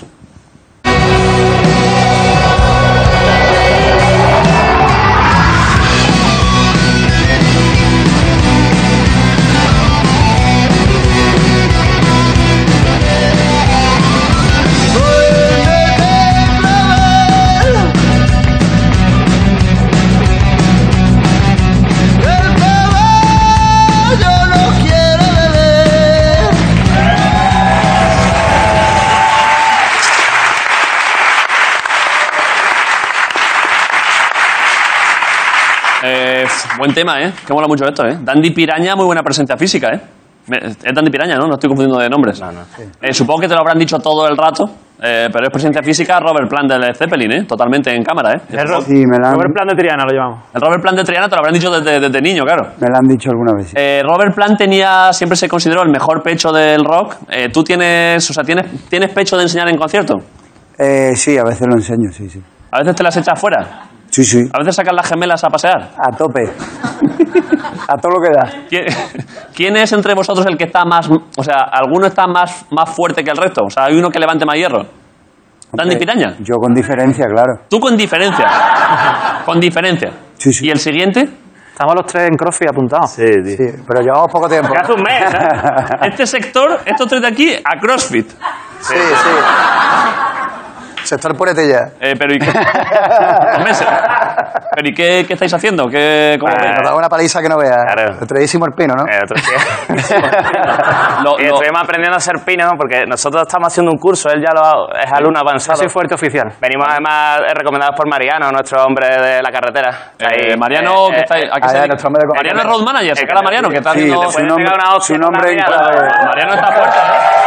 Eh, buen tema, ¿eh? Que mola mucho esto, ¿eh? Dandy Piraña, muy buena presencia física, ¿eh? Me- Es Dandy Piraña, ¿no? No estoy confundiendo de nombres. No, no. Eh, supongo que te lo habrán dicho todo el rato. Eh, pero es presencia física Robert Plant del Zeppelin, ¿eh? Totalmente en cámara, ¿eh? El Ro- sí, me la han... Robert Plant de Triana lo llamamos. El Robert Plant de Triana te lo habrán dicho desde, desde niño, claro. Me lo han dicho alguna vez. Sí. Eh, Robert Plant tenía, siempre se consideró el mejor pecho del rock. Eh, ¿Tú tienes, o sea, tienes, tienes pecho de enseñar en concierto? Eh, sí, a veces lo enseño, sí, sí. ¿A veces te las echas fuera? Sí, sí. ¿A veces sacas las gemelas a pasear? A tope. A todo lo que da. ¿Quién, ¿Quién es entre vosotros el que está más... O sea, ¿alguno está más, más fuerte que el resto? O sea, ¿hay uno que levante más hierro? ¿Dani Piraña? Yo con diferencia, claro. ¿Tú con diferencia? Con diferencia. Sí, sí. ¿Y el siguiente? Estamos los tres en CrossFit apuntados. Sí, sí. Sí, pero llevamos poco tiempo. Que hace un mes, ¿eh? Este sector, estos tres de aquí, a CrossFit. Sí, sí. Sector puretilla. Eh, pero ¿y qué? Meses. ¿Pero y qué, qué estáis haciendo? ¿Qué, cómo Nos da una paliza que no veas. Claro. El tradisimo el pino, ¿no? Eh, otro lo, y estuvimos aprendiendo a hacer pino porque nosotros estamos haciendo un curso, él ya lo, es alumno avanzado. Yo soy fuerte oficial. Venimos además recomendados por Mariano, nuestro hombre de la carretera. Eh, Ahí, Mariano, eh, que está ahí. Aquí allá, está nuestro hombre de Mariano es road manager, se cara Mariano, que está sí, haciendo... su nombre, su nombre en clave. Mariano está fuerte, ¿eh?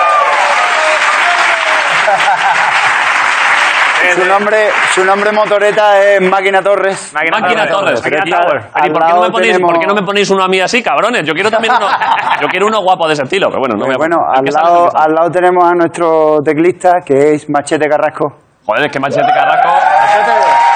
Su nombre, su nombre motoreta es Máquina Torres. Máquina, Máquina Torres. Máquina Torres. ¿Y por qué, no me ponéis, tenemos... ¿por qué no me ponéis uno a mí así, cabrones? Yo quiero también uno, yo quiero uno guapo de ese estilo, pero bueno, no me Bueno, al lado, al lado tenemos a nuestro teclista, que es Machete Carrasco. Joder, es que Machete Carrasco... Machete.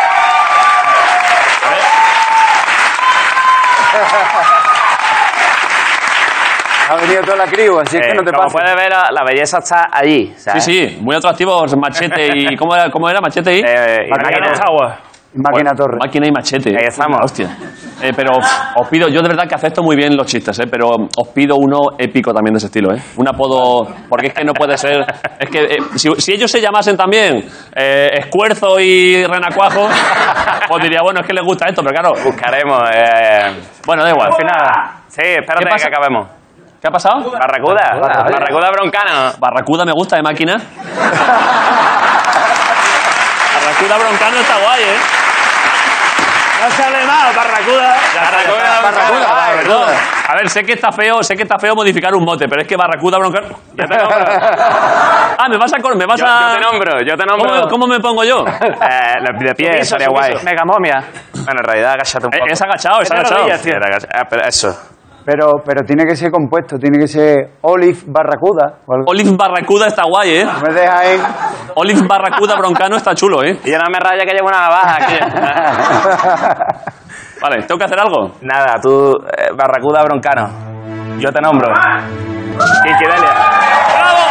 Ha venido toda la crew, así es eh, que no te como pases. puedes ver, la, la belleza está allí, ¿sabes? Sí, sí, muy atractivos Machete y... ¿Cómo era, cómo era Machete y? Eh, y Máquina Máquina Máquina Torres. Máquina y Machete. Ahí estamos. Hostia. Eh, pero os pido, yo de verdad que acepto muy bien los chistes, eh, pero os pido uno épico también de ese estilo, ¿eh? Un apodo, porque es que no puede ser... Es que eh, si, si ellos se llamasen también eh, Escuerzo y Renacuajo, pues diría, bueno, es que les gusta esto, pero claro... Buscaremos... Eh... Bueno, da igual. Al final... Sí, espérate que acabemos. ¿Qué ha pasado? Barracuda. Barracuda, Barracuda Broncano. Barracuda me gusta, de máquina. Barracuda Broncano está guay, ¿eh? No sale mal, Barracuda. Barracuda, Barracuda, Barracuda. Perdón. A ver, sé que está feo, sé que está feo modificar un mote, pero es que Barracuda Broncano... Ya te nombro. Ah, me vas a... Me vas yo, a... yo te nombro, yo te nombro. ¿Cómo, cómo me pongo yo? Eh, de pie, piso, sería guay. Mega momia. Bueno, en realidad, agáchate un poco. Es agachado, es agachado. Ah, pero eso... Pero, pero tiene que ser compuesto, tiene que ser Olive Barracuda. Olive Barracuda está guay, ¿eh? Me deja ahí. Olive Barracuda Broncano está chulo, ¿eh? Y yo no me raya que llevo una navaja aquí. Vale, ¿tengo que hacer algo? Nada, tú, eh, Barracuda Broncano. Yo te nombro. Kiki Delia. ¡Bravo!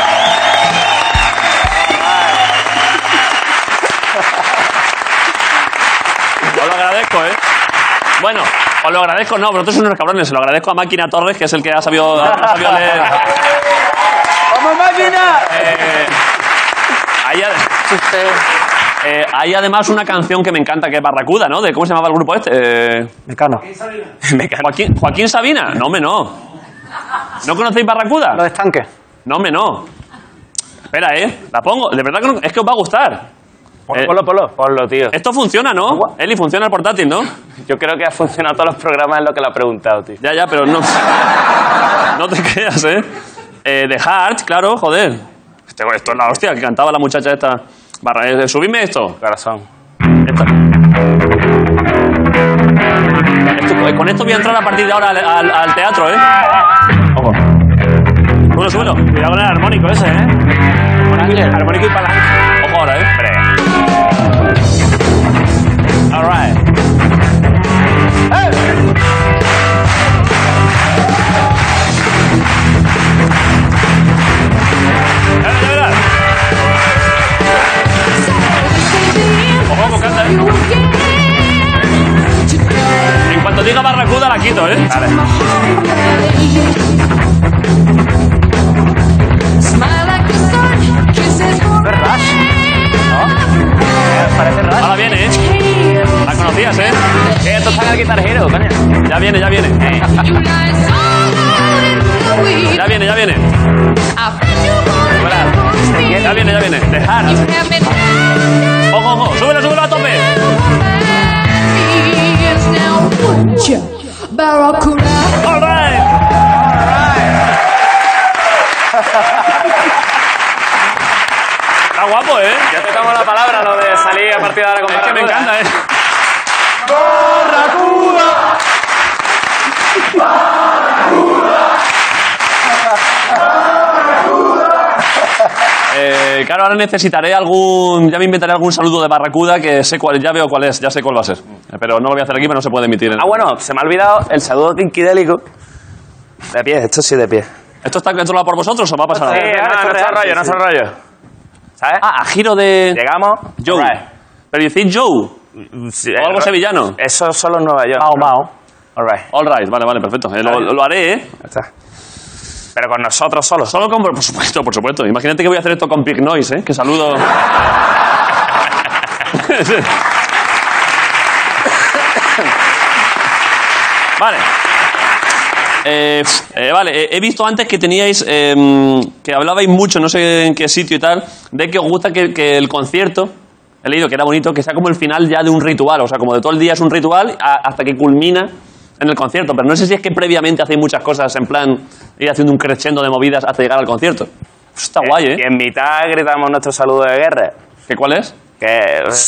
Os lo agradezco, ¿eh? Bueno... Os lo agradezco, no, vosotros sois unos cabrones. Se lo agradezco a Máquina Torres, que es el que ha sabido, ha sabido leer. ¡Vamos, Máquina! Eh, hay, eh, hay además una canción que me encanta, que es Barracuda, ¿no? De ¿cómo se llamaba el grupo este? Eh, Mecano. Joaquín, Joaquín Sabina. No, me no. ¿No conocéis Barracuda? Los estanques. No, me no. Espera, ¿eh? La pongo. De verdad que no, es que os va a gustar. Ponlo, eh, ponlo, ponlo. Ponlo, tío. Esto funciona, ¿no? Eli, funciona el portátil, ¿no? Yo creo que ha funcionado todos los programas en lo que le ha preguntado, tío. Ya, ya, pero no... No te creas, ¿eh? eh The Heart, claro, joder. Este, esto es la hostia que cantaba la muchacha esta. Barra, eh, subidme esto. Corazón. Esta. Esto, con esto voy a entrar a partir de ahora al, al, al teatro, ¿eh? Ojo. Bueno, súbelo. Cuidado con el armónico ese, ¿eh? Armónico y palanca. Ojo ahora, ¿eh? Hombre. All right. ¡Eh! Ojo, canta. En cuanto diga Barracuda la quito, ¿eh? Vale. Parece Rush. Ahora viene, ¿eh? La conocías, ¿eh? Eh, esto está en el Guitar Hero, coño. Ya viene, ya viene. Eh. Ya viene, ya viene. Ya viene, ya viene. Dejar. Ojo, ojo. Súbelo, súbelo a tope. All right. guapo, ¿eh? Ya te tomo la palabra lo de salir a partir de ahora con Es que me encanta, ¿eh? ¡Barracuda! Eh, claro, ahora necesitaré algún... Ya me inventaré algún saludo de Barracuda que sé cuál... Ya veo cuál es, ya sé cuál va a ser. Pero no lo voy a hacer aquí, pero no se puede emitir. En... Ah, bueno, se me ha olvidado el saludo quinquidélico. De pie, esto sí de pie. ¿Esto está controlado por vosotros o va a pasar Sí, algo? no, no, nuestro rollo, nuestro rollo. ¿Sabes? Ah, a giro de... Llegamos. Joe. Right. Pero decís Joe. Sí, o algo eh, sevillano. Eso solo en Nueva York. Mao, Mao. All right. All right, vale, vale, perfecto. Eh, lo, lo haré, ¿eh? Ya está. Pero con nosotros solos. Solo con... Por supuesto, por supuesto. Imagínate que voy a hacer esto con Pig Noise, ¿eh? Que saludo... Vale. Eh, eh, vale, eh, he visto antes que teníais, eh, que hablabais mucho, no sé en qué sitio y tal, de que os gusta que, que el concierto, he leído que era bonito, que sea como el final ya de un ritual, o sea, como de todo el día es un ritual a, hasta que culmina en el concierto, pero no sé si es que previamente hacéis muchas cosas en plan ir haciendo un crescendo de movidas hasta llegar al concierto. Eso está guay, ¿eh? Y en mitad gritamos nuestro saludo de guerra. ¿Qué cuál es? Que...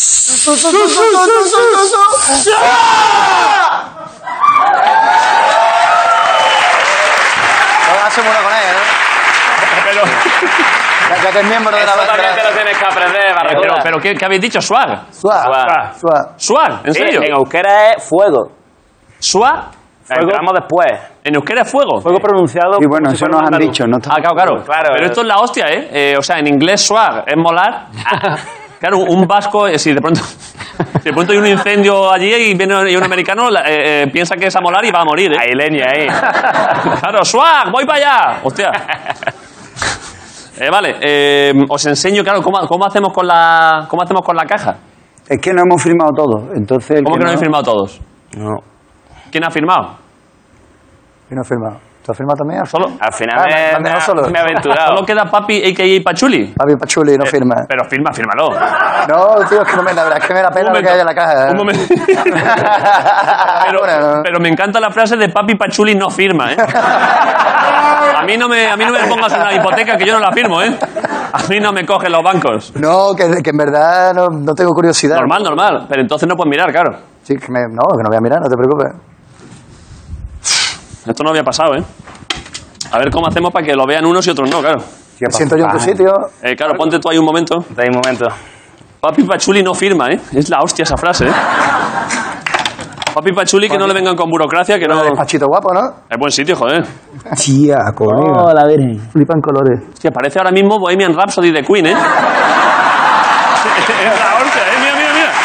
Hacemos uno con él, ¿eh? Pero... Ya, ya que es miembro de la Eso también banda. te lo tienes que aprender, Eh, Barracuda. pero, pero ¿qué, qué habéis dicho? ¿Swag? Suave. Suave. Suave. ¿Swag? ¿En Sí, serio? en euskera es fuego. ¿Swag? Entramos después. ¿En euskera es fuego? Fuego pronunciado. Y bueno, eso nos han dicho, ¿no? Ah, claro, claro. Claro, Pero eh. esto es la hostia, ¿eh? Eh, O sea, en inglés swag es molar. Claro, un vasco, eh, si de pronto, si de pronto hay un incendio allí y viene y un americano, la- eh, eh, piensa que es a molar y va a morir, ¿eh? Hay leña ahí. Claro, swag, voy para allá. Hostia. Eh, vale, eh, os enseño, claro, cómo, cómo hacemos con la cómo hacemos con la caja. Es que no hemos firmado todo. Entonces, el ¿Cómo que no habéis firmado todos? No. ¿Quién ha firmado? ¿Quién no ha firmado? ¿Tú has firmado también? Solo, Al final Ah, me, me- me me, dejo solo. me he aventurado. solo queda Papi, a k a. Pachuli. Papi Pachuli no firma. Pero firma, fírmalo. No, tío, es que no me, la verdad es que me da pena Un lo que hay en la caja. ¿eh? Un momento. Pero, Bueno, no. pero me encanta la frase de Papi Pachuli no firma, ¿eh? A mí no me, a mí no me pongas una hipoteca que yo no la firmo, ¿eh? A mí no me cogen los bancos. No, que, que en verdad no, no tengo curiosidad. Normal, normal. Pero entonces no puedes mirar, claro. Sí, que me, no, que no voy a mirar, no te preocupes. Esto no había pasado, ¿eh? A ver cmo hacemos para que lo vean unos y otros no, claro. Me siento yo en tu sitio. Eh, claro, ponte tú ahí un momento. De ahí un momento. Papi Pachuli no firma, ¿eh? Es la hostia esa frase, ¿eh? Papi Pachuli, que no le vengan con burocracia, que no... Despachito guapo, ¿no? Es buen sitio, joder. Tía, colega. Oh, la virgen. Flipan colores. Hostia, parece ahora mismo Bohemian Rhapsody de Queen, ¿eh? Es la hostia, ¿eh? Mira, mira, mira.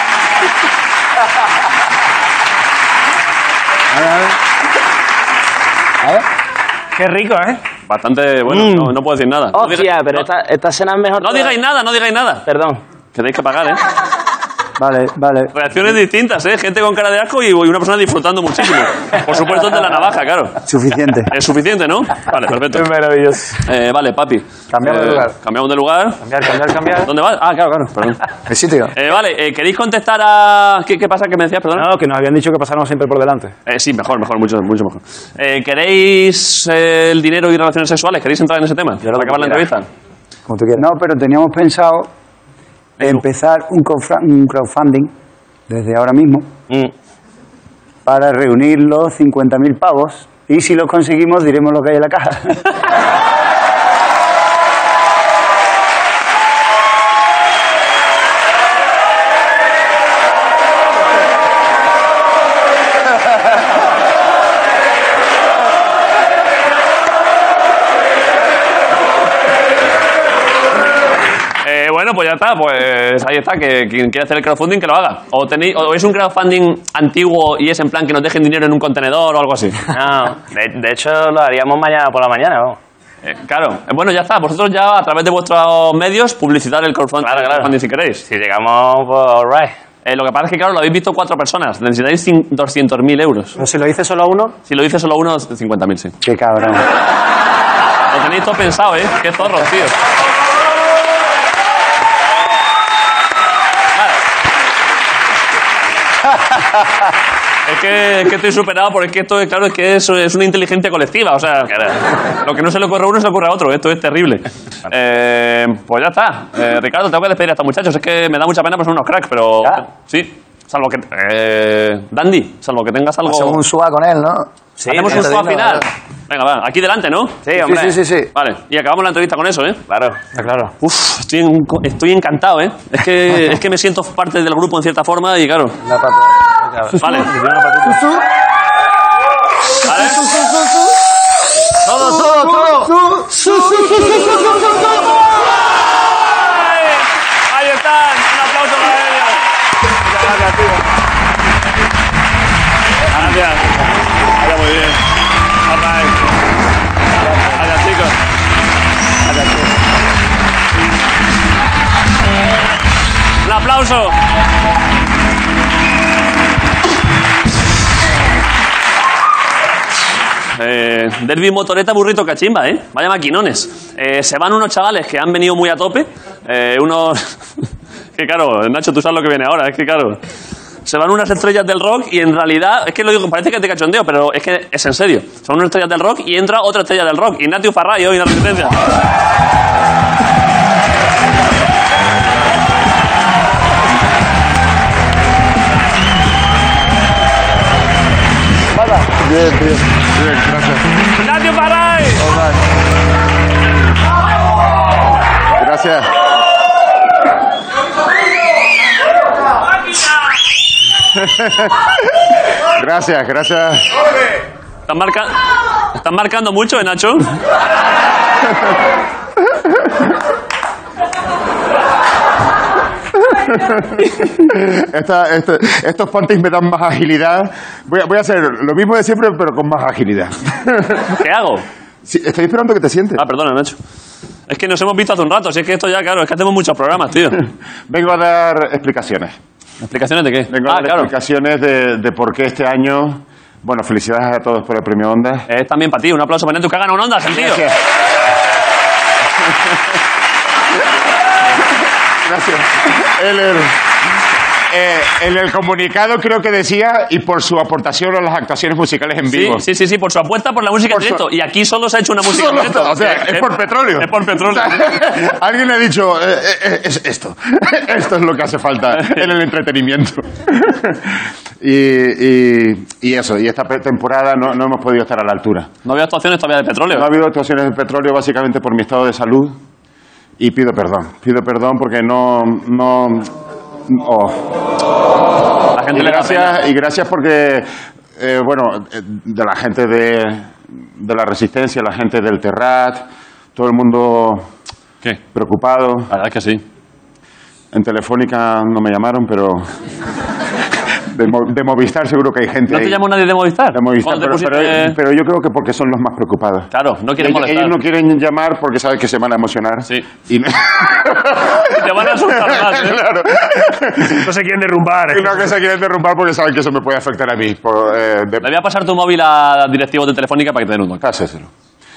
A ver. Qué rico, ¿eh? Bastante, bueno, Mm. no, no puedo decir nada. No Hostia, diga- pero no- esta, esta cena es mejor. no que- digáis nada, no digáis nada. Perdón. Que tenéis que pagar, ¿eh? Vale, vale. Reacciones distintas, ¿eh? Gente con cara de asco y una persona disfrutando muchísimo. Por supuesto, el de la navaja, claro. Suficiente. Es suficiente, ¿no? Vale, perfecto. Es maravilloso. Eh, vale, papi. Cambiamos de Eh, lugar. Cambiamos de lugar. Cambiar, cambiar, cambiar. ¿Dónde vas? Ah, claro, claro, perdón. El sitio. Eh, vale, eh, ¿queréis contestar a...? ¿Qué, qué pasa? ¿Qué me decías, perdón? No, que nos habían dicho que pasáramos siempre por delante. Eh, sí, mejor, mejor, mucho, mucho mejor. Eh, ¿Queréis eh, el dinero y relaciones sexuales? ¿Queréis entrar en ese tema? ¿Para acabar la entrevista? Como tú quieras. No, pero teníamos pensado empezar un, crowdfra- un crowdfunding desde ahora mismo para reunir los cincuenta mil pavos y si los conseguimos diremos lo que hay en la caja. Eh, bueno, pues ya está, pues ahí está, que quien quiera hacer el crowdfunding que lo haga. O, tenéis, o es un crowdfunding antiguo y es en plan que nos dejen dinero en un contenedor o algo así. No, de, de hecho lo haríamos mañana por la mañana, vamos. Eh, claro, Eh, bueno, ya está, vosotros ya a través de vuestros medios publicitar el crowdfunding, Claro, claro. crowdfunding si queréis. Si llegamos, pues alright. Eh, lo que pasa es que, claro, lo habéis visto cuatro personas, necesitáis doscientos mil euros. Pero si lo dice solo uno, Si lo dice solo uno, cincuenta mil, sí. Qué cabrón. Lo tenéis todo pensado, ¿eh? Qué zorros, tío. Vale. Es que, es que estoy superado porque es que esto, claro, es que es, es una inteligencia colectiva. O sea, que, lo que no se le ocurre a uno se le ocurre a otro. Esto es terrible. Eh, pues ya está. Eh, Ricardo, tengo que despedir a estos muchachos. Es que me da mucha pena, pues son unos cracks, pero... ¿Ya? Sí. Salvo que... Eh, Dandy, salvo que tengas algo... Hacemos un suá con él, ¿no? Sí, hacemos un suá final. Venga, va. Aquí delante, ¿no? Sí, hombre. Sí, sí, sí, sí. Vale. Y acabamos la entrevista con eso, ¿eh? Claro, claro. Uf, estoy, en, estoy encantado, ¿eh? Es que, es que me siento parte del grupo en cierta forma y claro... La pata. Vale. Vale. Todo, todo, todo. Ahí están. Un aplauso para ellos. Muchas gracias, tío. Gracias. Vaya muy bien. All right. Gracias, chicos. Gracias, chicos. Un aplauso. Eh, Derby Motoreta Burrito Cachimba, ¿eh? Vaya maquinones. Eh, se van unos chavales que han venido muy a tope. Eh, unos... que claro, Nacho, tú sabes lo que viene ahora. Es que claro... Se van unas estrellas del rock y en realidad... Es que lo digo, parece que te cachondeo, pero es que es en serio. Son unas estrellas del rock y entra otra estrella del rock. Ignatius Farray hoy en la Resistencia. Bien, bien. Bien, gracias. Ignatius Farray. Gracias. Gracias, gracias. ¿Están, marca... ¿Están marcando mucho, eh, Nacho? Esta, este, estos panties me dan más agilidad. Voy a, voy a hacer lo mismo de siempre, pero con más agilidad. ¿Qué hago? Sí, estoy esperando que te sientes. Ah, perdona, Nacho. Es que nos hemos visto hace un rato, así es que esto ya, claro, es que hacemos muchos programas, tío. Vengo a dar explicaciones. ¿Explicaciones de qué? Vengo ah, a dar claro. explicaciones de, de por qué este año... Bueno, felicidades a todos por el premio Ondas. Es también para ti, un aplauso para Neto que ha ganado un Ondas, el tío. Gracias. Gracias. El, el, eh, en el comunicado creo que decía, y por su aportación a las actuaciones musicales en vivo. Sí, sí, sí, sí, por su apuesta por la música Por en directo. su... Y aquí solo se ha hecho una música Solo, en directo. O sea, es, es por petróleo. Es por petróleo. O sea, alguien le ha dicho, eh, eh, es esto. Esto es lo que hace falta en el entretenimiento. Y, y, y eso, y esta temporada no, no hemos podido estar a la altura. ¿No ha habido actuaciones todavía de petróleo? No ha habido actuaciones de petróleo básicamente por mi estado de salud. Y pido perdón. Pido perdón porque no... no oh. La gente y, le da gracias, pena. y gracias porque, eh, bueno, de la gente de, de la Resistencia, la gente del Terrat, todo el mundo ¿Qué? preocupado. La verdad es que sí. En Telefónica no me llamaron, pero... De, de Movistar seguro que hay gente. ¿No te ahí. llamó nadie de Movistar? De Movistar, pero, pusiste... pero, pero yo creo que porque son los más preocupados. Claro, no quieren ellos, molestar. ellos no quieren llamar porque saben que se van a emocionar. Sí. Y no... Te van a asustar más, ¿eh? Claro. No se quieren derrumbar. Y no que se quieren derrumbar porque saben que eso me puede afectar a mí. Por, eh, de... Le voy a pasar tu móvil a directivos de Telefónica para que te den un toque. Páseselo.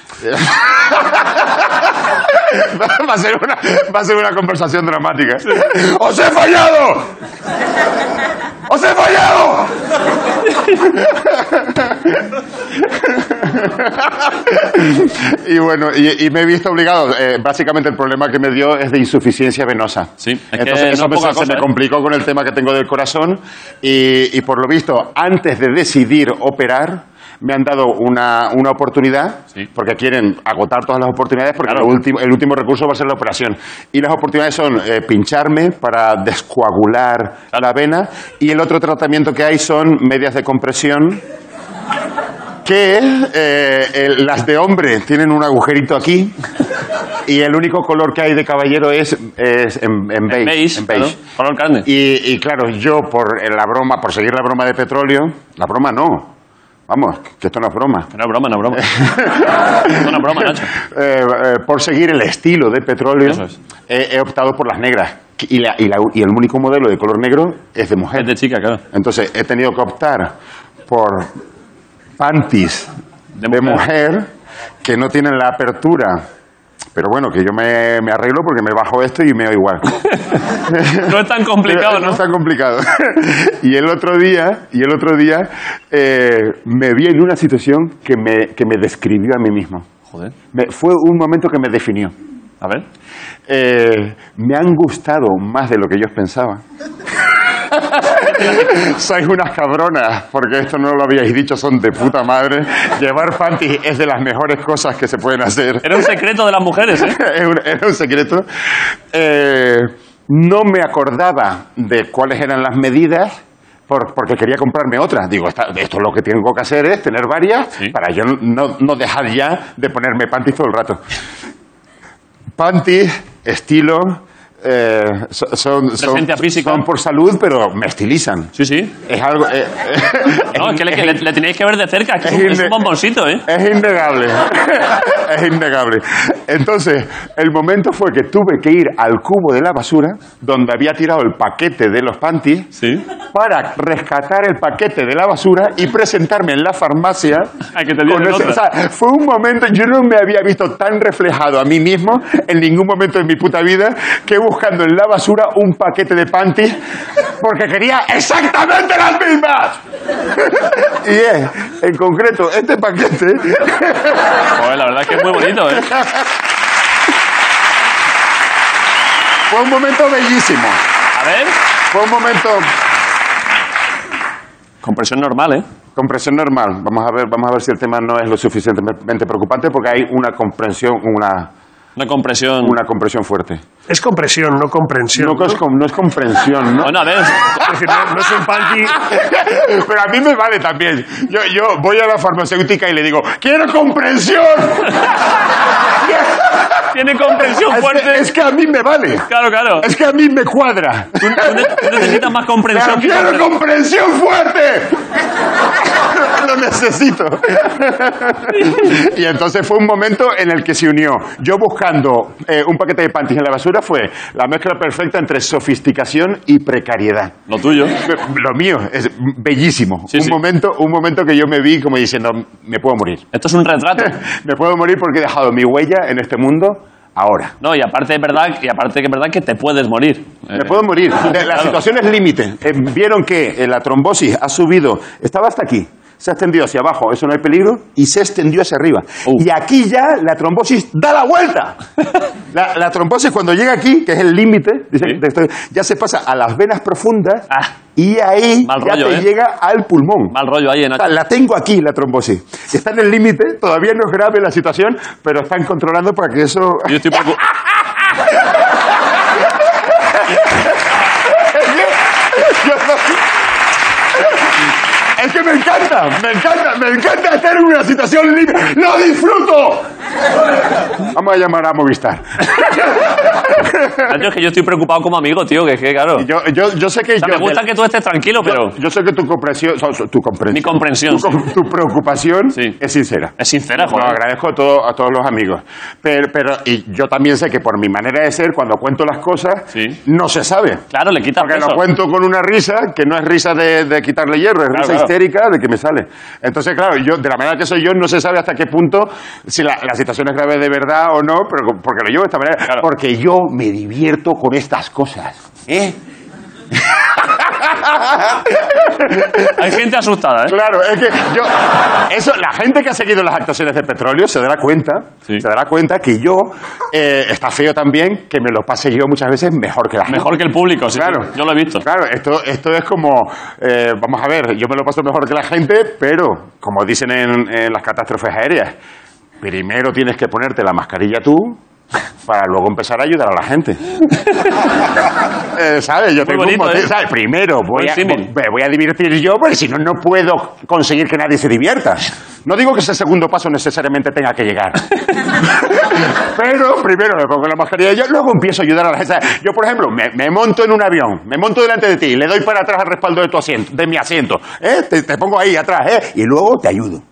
Va a ser una, va a ser una conversación dramática. Sí. ¡Os he fallado! ¡Os he fallado! Y bueno, y, y me he visto obligado. Eh, básicamente el problema que me dio es de insuficiencia venosa. Sí, es Entonces que eso no me, poca se cosa, me ¿eh? complicó con el tema que tengo del corazón y, y por lo visto, antes de decidir operar, me han dado una, una oportunidad, sí. porque quieren agotar todas las oportunidades, porque Claro. lo último, el último recurso va a ser la operación. Y las oportunidades son eh, pincharme para descoagular Claro. la vena, y el otro tratamiento que hay son medias de compresión, que eh, el- las de hombre tienen un agujerito aquí, y el único color que hay de caballero es, es en, en beige. beige, en beige. claro, color carne. Y, y claro, yo por la broma, por seguir la broma de petróleo, la broma no. Vamos, que esto no es broma. No es broma, no es broma. No es una broma, Nacho. Eh, eh, por seguir el estilo de petróleo, Eso es. he, he optado por las negras. Y, la- y la- y el único modelo de color negro es de mujer. Es de chica, claro. Entonces he tenido que optar por panties De de mujer. mujer que no tienen la apertura Pero bueno, que yo me, me arreglo porque me bajo esto y me da igual. No es tan complicado, ¿no? No es tan complicado. Y el otro día, y el otro día eh, me vi en una situación que me, que me describió a mí mismo. Joder. Me, fue un momento que me definió. A ver. Eh, me han gustado más de lo que yo pensaba. Sois unas cabronas, porque esto no lo habíais dicho, son de puta madre. Llevar panties es de las mejores cosas que se pueden hacer. Era un secreto de las mujeres, ¿eh? Era un, era un secreto. Eh, no me acordaba de cuáles eran las medidas, por, porque quería comprarme otra. Digo, esta, esto lo que tengo que hacer es tener varias, ¿sí?, para yo no, no dejar ya de ponerme panties todo el rato. Panties, estilo... Eh, son, son, son, son por salud, pero me estilizan. Sí, sí. Es algo. Eh, eh, no, es que, le, que le, le tenéis que ver de cerca, que es, es, un, es un bomboncito, ¿eh? Es innegable. Es innegable. Entonces, el momento fue que tuve que ir al cubo de la basura, donde había tirado el paquete de los panties, ¿sí?, para rescatar el paquete de la basura y presentarme en la farmacia. Ay, que te con ese, o sea, fue un momento, yo no me había visto tan reflejado a mí mismo en ningún momento de mi puta vida que buscando en la basura un paquete de panties porque quería exactamente las mismas. Y es, en concreto, este paquete... Joder, la verdad es que es muy bonito, ¿eh? Fue un momento bellísimo. A ver. Fue un momento... Compresión normal, ¿eh? Compresión normal. Vamos a ver, vamos a ver si el tema no es lo suficientemente preocupante porque hay una comprensión, una... Una compresión. Una compresión fuerte. Es compresión, no comprensión. No, ¿no? Es, no es comprensión, ¿no? Bueno, a ver. Es decir, no, no es un panty. Pero a mí me vale también. Yo, yo voy a la farmacéutica y le digo, ¡quiero comprensión! Tiene comprensión es fuerte. Que, es que a mí me vale. Claro, claro. Es que a mí me cuadra. Tú, tú necesitas más comprensión. ¡Quiero comprensión, comprensión fuerte! Lo necesito. Y entonces fue un momento en el que se unió. Yo buscando eh, un paquete de panties en la basura fue la mezcla perfecta entre sofisticación y precariedad. Lo tuyo. Lo mío es bellísimo. Sí, un sí. momento, un momento que yo me vi como diciendo, me puedo morir. Esto es un retrato. Me puedo morir porque he dejado mi huella en este mundo. Ahora. No, y aparte es verdad, y aparte que es verdad que te puedes morir. Me eh, puedo morir. La claro. situación es límite. Eh, vieron que eh, la trombosis ha subido, estaba hasta aquí, se ha extendido hacia abajo, eso no hay peligro, y se extendió hacia arriba. Uh. Y aquí ya la trombosis da la vuelta. La, la trombosis cuando llega aquí, que es el límite, ¿sí?, ya se pasa a las venas profundas, ah. y ahí Mal ya rollo, te ¿eh? llega al pulmón. Mal rollo ahí en... O sea, la tengo aquí, la trombosis. Está en el límite, todavía no es grave la situación, pero están controlando para que eso... Yo estoy preocupado. Es que me encanta, me encanta, me encanta estar en una situación libre. ¡Lo disfruto! Vamos a llamar a Movistar. Es que yo estoy preocupado como amigo, tío, que es que, claro. Yo, yo, yo sé que... O sea, yo, me gusta que tú estés tranquilo, yo, pero... Yo sé que tu comprensión... Tu comprensión Mi comprensión. Tu, sí. tu preocupación sí. es sincera. Es sincera, joder. Lo agradezco a, todo, a todos los amigos. Pero, pero, y yo también sé que por mi manera de ser, cuando cuento las cosas, sí. no se sabe. Claro, le quitas Porque peso. lo cuento con una risa, que no es risa de, de quitarle hierro, es claro, risa claro. histérica de que me sale. Entonces, claro, yo, de la manera que soy yo, no se sabe hasta qué punto, si la, la situación es grave de verdad o no, pero porque lo llevo de esta manera. Claro. Porque yo me divierto con estas cosas. ¿Eh? Hay gente asustada, ¿eh? Claro, es que yo... Eso, la gente que ha seguido las actuaciones de Petróleo se dará cuenta, sí. se dará cuenta que yo... Eh, está feo también que me lo pase yo muchas veces mejor que la gente. Mejor que el público, sí. Claro. Sí, yo lo he visto. Claro, esto, esto es como... Eh, vamos a ver, yo me lo paso mejor que la gente, pero, como dicen en, en las catástrofes aéreas, primero tienes que ponerte la mascarilla tú... para luego empezar a ayudar a la gente. eh, ¿Sabes? Yo Muy tengo bonito, un motivo, ¿eh? ¿sabes? Primero voy a, me voy a divertir yo, porque si no, no puedo conseguir que nadie se divierta. No digo que ese segundo paso necesariamente tenga que llegar. Pero primero me pongo la mascarilla yo, luego empiezo a ayudar a la gente. Yo, por ejemplo, me, me monto en un avión, me monto delante de ti, le doy para atrás al respaldo de tu asiento, de mi asiento, ¿eh? te, te pongo ahí atrás, ¿eh? Y luego te ayudo.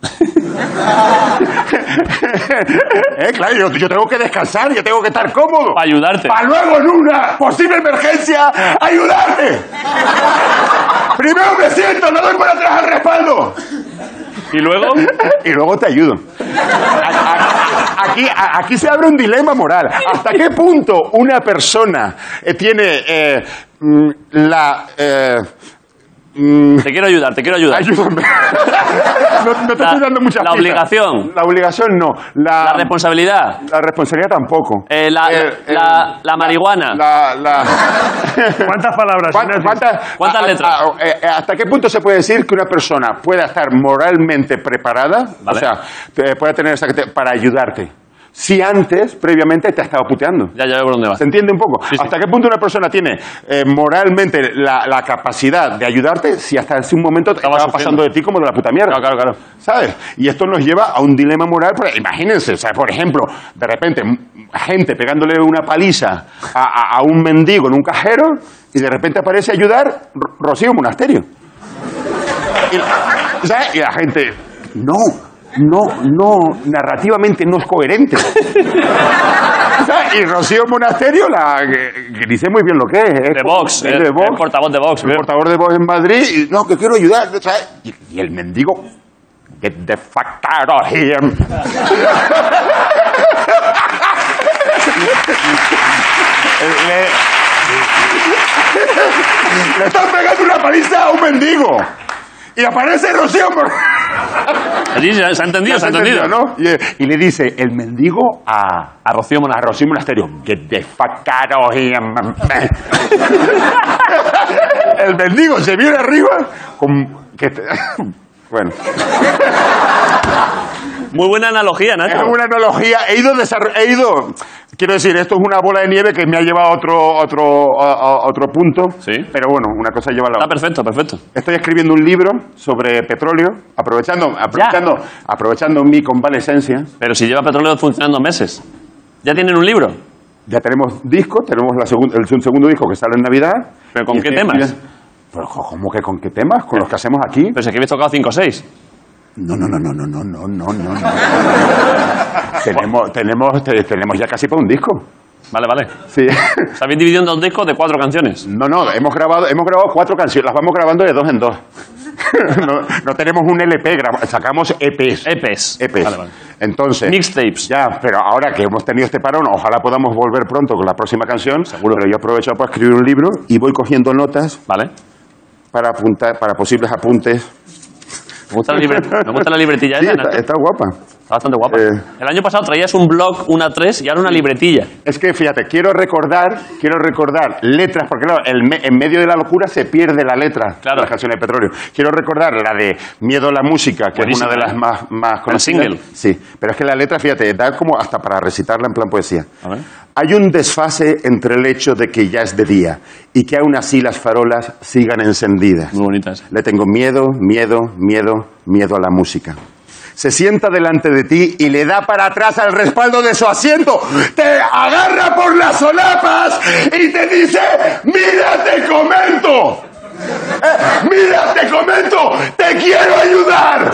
¿Eh? Claro, yo, yo tengo que descansar, yo tengo que estar cómodo. Para ayudarte. Para luego en una posible emergencia ayudarte. Primero me siento, le doy para atrás al respaldo. ¿Y luego? Y luego te ayudo. aquí, aquí se abre un dilema moral. ¿Hasta qué punto una persona eh, tiene eh, la... Eh, te quiero ayudar, te quiero ayudar. Ayúdame. No, no te la, estoy dando mucha La pista. obligación. La obligación no. La, la responsabilidad. La responsabilidad tampoco. Eh, la, eh, la, la, la marihuana. La, la... ¿Cuántas palabras? ¿Cuántas, cuántas, ¿Cuántas a, letras? A, a, eh, ¿Hasta qué punto se puede decir que una persona pueda estar moralmente preparada, vale. o sea, te, pueda tener esa para ayudarte? Si antes, previamente, te ha estado puteando. Ya, ya veo por dónde vas. ¿Se entiende un poco? Sí, sí. ¿Hasta qué punto una persona tiene eh, moralmente la, la capacidad de ayudarte si hasta ese un momento estaba, estaba pasando de ti como de la puta mierda? Claro, claro, claro. ¿Sabes? Y esto nos lleva a un dilema moral. Porque, imagínense, o sea, por ejemplo, de repente, gente pegándole una paliza a, a, a un mendigo en un cajero y de repente aparece a ayudar Rocío Monasterio. Y, ¿sabes? Y la gente, no. No, no, narrativamente no es coherente. Y Rocío Monasterio, la, que, que dice muy bien lo que es. De Vox, es de Vox, el portavoz de Vox. El portavoz de Vox en Madrid, y no, que quiero ayudar, ¿sabes? Y, y el mendigo, get the fuck out of here. le, le están pegando una paliza a un mendigo. Y aparece Rocío Monasterio. Sí, se ha entendido, se ha entendido. ¿No? Y, y le dice el mendigo a, a Rocío Monasterio. A Rocío Monasterio. Get the fuck out of here. El mendigo se viene arriba con... Que te, bueno. Muy buena analogía, Nacho. Es una analogía. He ido, he ido... Quiero decir, esto es una bola de nieve que me ha llevado a otro, otro, a, a otro punto. Sí. Pero bueno, una cosa lleva a la otra. Está perfecto, perfecto. Estoy escribiendo un libro sobre petróleo, aprovechando, aprovechando, aprovechando mi convalescencia. Pero si lleva petróleo funcionando meses. ¿Ya tienen un libro? Ya tenemos disco, tenemos la segun, el segundo disco que sale en Navidad. ¿Pero con qué temas? Pero, ¿cómo que con qué temas? Con los que hacemos aquí. Pero si aquí habéis tocado cinco o seis. No, no, no, no, no, no, no, no, no. tenemos, tenemos, te, tenemos ya casi para un disco. Vale, vale. Sí. ¿Se habéis dividido en dos discos de cuatro canciones? No, no, hemos grabado, hemos grabado cuatro canciones, las vamos grabando de dos en dos. no, no tenemos un L P, sacamos E Pes. E Pes. E Pes. Vale, vale. Entonces. Mixtapes. Ya, pero ahora que hemos tenido este parón, ojalá podamos volver pronto con la próxima canción. Seguro. Pero yo he aprovechado para escribir un libro y voy cogiendo notas. Vale. Para apuntar, para posibles apuntes. Me gusta la, libre, me gusta la libretilla sí, esa, está, está guapa. Está bastante guapa. Eh, el año pasado traías un blog, una tres, y ahora una libretilla. Es que, fíjate, quiero recordar, quiero recordar letras, porque claro, el me, en medio de la locura se pierde la letra claro. de las canciones de petróleo. Quiero recordar la de Miedo a la música, que buenísima, es una de las más, más conocidas. single. Sí, pero es que la letra, fíjate, da como hasta para recitarla en plan poesía. A ver. Hay un desfase entre el hecho de que ya es de día y que aún así las farolas sigan encendidas. Muy bonita esa. Le tengo miedo, miedo, miedo, miedo a la música. Se sienta delante de ti y le da para atrás al respaldo de su asiento. Te agarra por las solapas y te dice, ¡mira, te comento! Eh, ¡Mira, te comento! ¡Te quiero ayudar!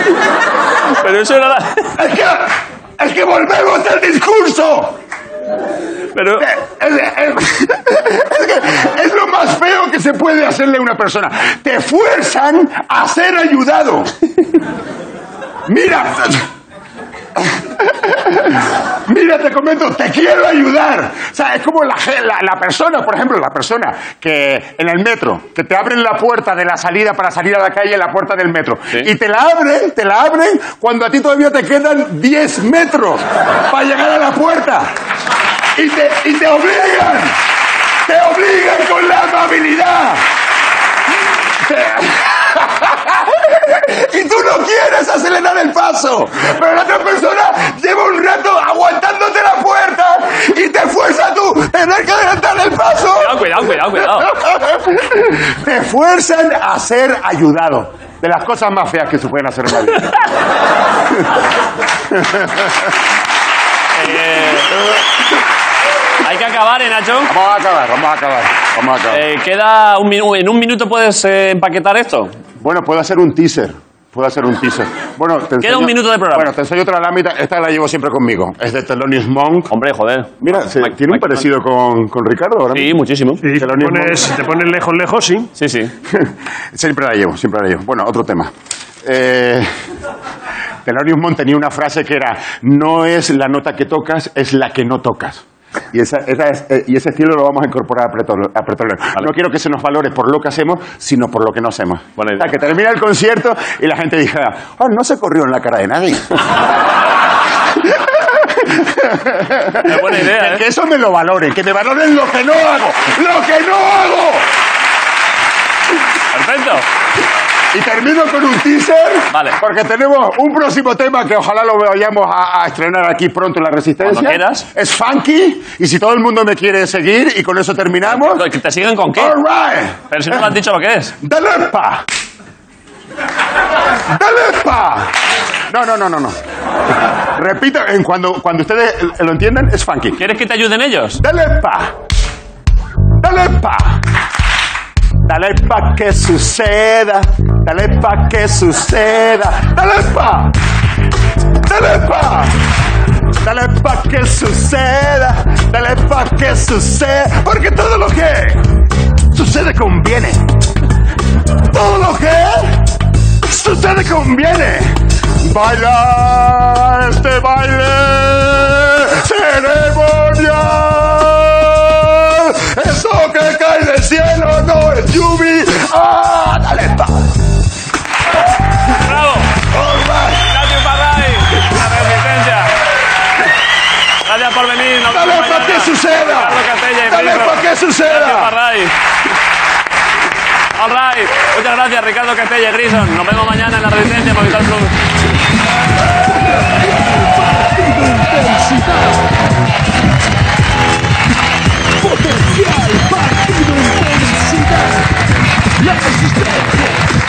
Pero eso era la... Es que, es que volvemos al discurso. Pero... Es, es, es, que es lo más feo que se puede hacerle a una persona. Te fuerzan a ser ayudado. Mira, mira, te comento, te quiero ayudar. O sea, es como la, la, la persona, por ejemplo, la persona que en el metro, que te abren la puerta de la salida para salir a la calle, la puerta del metro. ¿Sí? Y te la abren, te la abren cuando a ti todavía te quedan diez metros para llegar a la puerta. Y te, y te obligan, te obligan con la amabilidad. Te... Y tú no quieres acelerar el paso, pero la otra persona lleva un rato aguantándote la puerta y te fuerza tú tener que adelantar el paso. Cuidado, cuidado, cuidado, cuidado. Te fuerzan a ser ayudado. De las cosas más feas que se pueden hacer en la vida. eh, hay que acabar, ¿eh, Nacho? Vamos a acabar, vamos a acabar. Vamos a acabar. Eh, queda un minuto. ¿En un minuto puedes eh, empaquetar esto? Bueno, puedo hacer un teaser. Puedo hacer un teaser. Bueno, te enseño, Queda un minuto de programa. Bueno, te enseño otra lámina. Esta la llevo siempre conmigo. Es de Thelonious Monk. Hombre, joder. Mira, se, Mike, tiene Mike, un parecido con, con Ricardo ahora. Sí, muchísimo. Sí, te pones, te pones lejos, lejos, sí. Sí, sí. Siempre la llevo, siempre la llevo. Bueno, otro tema. Eh, Thelonious Monk tenía una frase que era: no es la nota que tocas, es la que no tocas. Y, esa, esa es, eh, y ese estilo lo vamos a incorporar a Petrolero. A Petrolero. Vale. No quiero que se nos valore por lo que hacemos, sino por lo que no hacemos. O sea, que termina el concierto y la gente dijera: oh, no se corrió en la cara de nadie. Es buena idea, ¿eh? Que eso me lo valoren, que me valoren lo que no hago, lo que no hago. Perfecto. Y termino con un teaser, vale. Porque tenemos un próximo tema que ojalá lo vayamos a, a estrenar aquí pronto en La Resistencia. Cuando quieras. Es funky, y si todo el mundo me quiere seguir, y con eso terminamos. ¿Que te siguen con qué? All right. Pero si no me has dicho lo que es. ¡Dale pa! ¡Dale pa! No, no, no, no, no. Repito, en cuando, cuando ustedes lo entiendan, es funky. ¿Quieres que te ayuden ellos? ¡Dale pa! ¡Dale pa! Dale pa' que suceda, dale pa' que suceda, dale pa', dale pa', dale pa' que suceda, dale pa' que suceda, porque todo lo que sucede conviene, todo lo que sucede conviene. Baila este baile ceremonial, eso que cae del cielo no es lluvia. ¡Ah, dale, pa! ¡Bravo! Right. Gracias, Parray. La Resistencia. Gracias por venir. Nos ¡Dale pa' que suceda! ¡Dale pa' que suceda! Gracias, Parray. All right. Muchas gracias, Ricardo Castella y Grison. Nos vemos mañana en La Resistencia, Movistar Plus. Potencial partido intensidad. La Resistencia.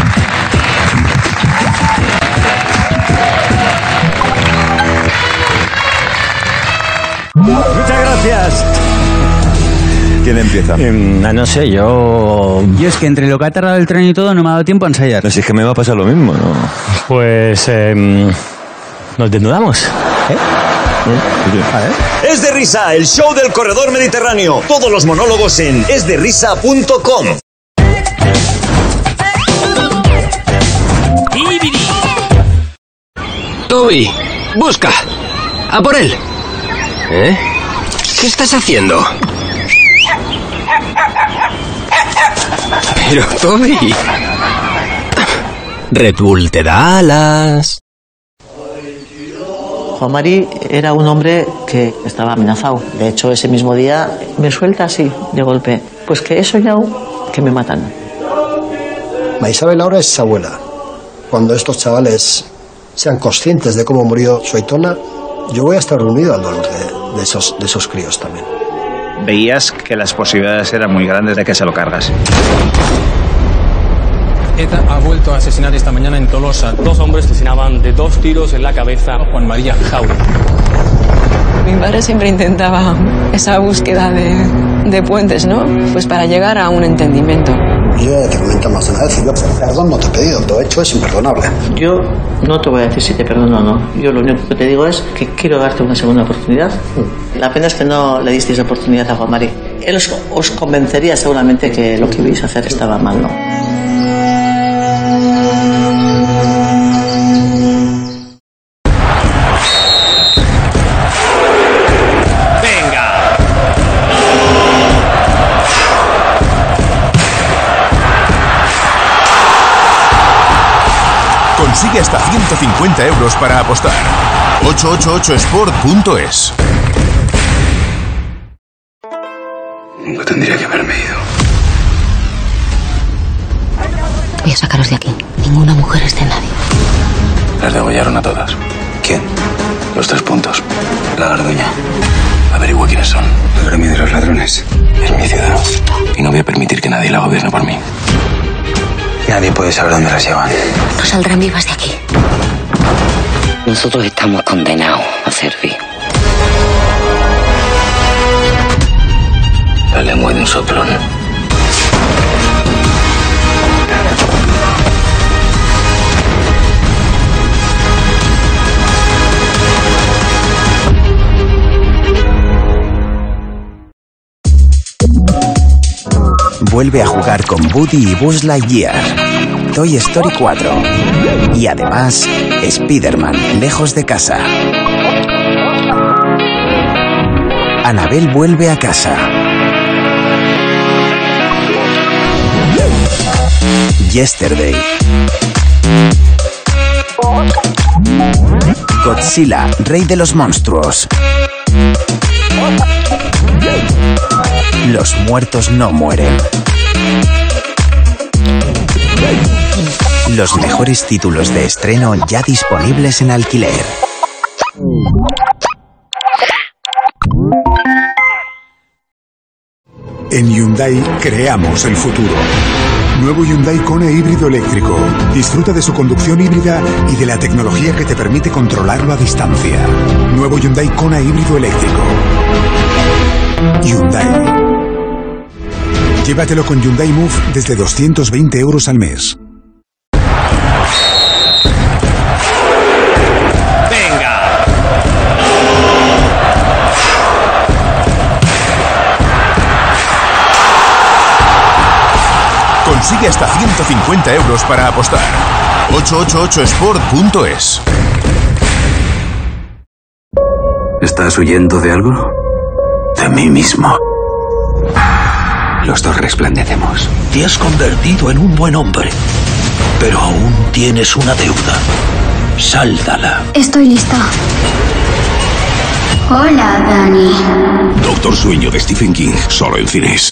Muchas gracias. ¿Quién empieza? Eh, no sé, yo... Yo es que entre lo que ha tardado el tren y todo no me ha dado tiempo a ensayar. No sé, es que me va a pasar lo mismo, ¿no? Pues... Eh, nos desnudamos. ¿Eh? ¿Eh? Es de Risa, el show del corredor mediterráneo. Todos los monólogos en es de risa punto com. Toby, busca. A por él. ¿Eh? ¿Qué estás haciendo? Pero, Toby... Red Bull te da alas. Juan Mari era un hombre que estaba amenazado. De hecho, ese mismo día me suelta así, de golpe. Pues que he soñado que me matan. Maisabel ahora es abuela. Cuando estos chavales sean conscientes de cómo murió su Aitona, yo voy a estar unido al dolor de, de, esos, de esos críos también. Veías que las posibilidades eran muy grandes de que se lo cargas. ETA ha vuelto a asesinar esta mañana en Tolosa. Dos hombres asesinaban de dos tiros en la cabeza a Juan María Jaura. Mi padre siempre intentaba esa búsqueda de, de puentes, ¿no? Pues para llegar a un entendimiento. Yo ya te comento más de una vez, yo perdón no te he pedido, lo he hecho es imperdonable. Yo no te voy a decir si te perdono o no. Yo lo único que te digo es que quiero darte una segunda oportunidad. La pena es que no le disteis oportunidad a Juan Mari. Él os, os convencería seguramente que lo que ibais a hacer estaba mal, ¿no? Consigue hasta ciento cincuenta euros para apostar. ocho ocho ocho sport punto es. Nunca tendría que haberme ido. Voy a sacaros de aquí. Ninguna mujer es de nadie. Las degollaron a todas. ¿Quién? Los tres puntos. La Garduña. Averigua quiénes son. El gremio de los ladrones. Es mi ciudad. Y no voy a permitir que nadie la gobierne por mí. Nadie puede saber dónde las llevan. No saldrán vivas de aquí. Nosotros estamos condenados a servir. La lengua de un soplón. Vuelve a jugar con Woody y Buzz Lightyear. Toy Story cuatro. Y además, Spider-Man, lejos de casa. Annabelle vuelve a casa. Yesterday. Godzilla, rey de los monstruos. Los muertos no mueren. Los mejores títulos de estreno ya disponibles en alquiler. En Hyundai creamos el futuro. Nuevo Hyundai Kona híbrido eléctrico. Disfruta de su conducción híbrida y de la tecnología que te permite controlarlo a distancia. Nuevo Hyundai Kona híbrido eléctrico. Hyundai. Llévatelo con Hyundai Move desde doscientos veinte euros al mes. Consigue hasta ciento cincuenta euros para apostar. ocho ocho ocho sport punto es. ¿Estás huyendo de algo? De mí mismo. Los dos resplandecemos. Te has convertido en un buen hombre, pero aún tienes una deuda. Sáldala. Estoy lista. Hola, Dani. Doctor Sueño de Stephen King, solo en cines.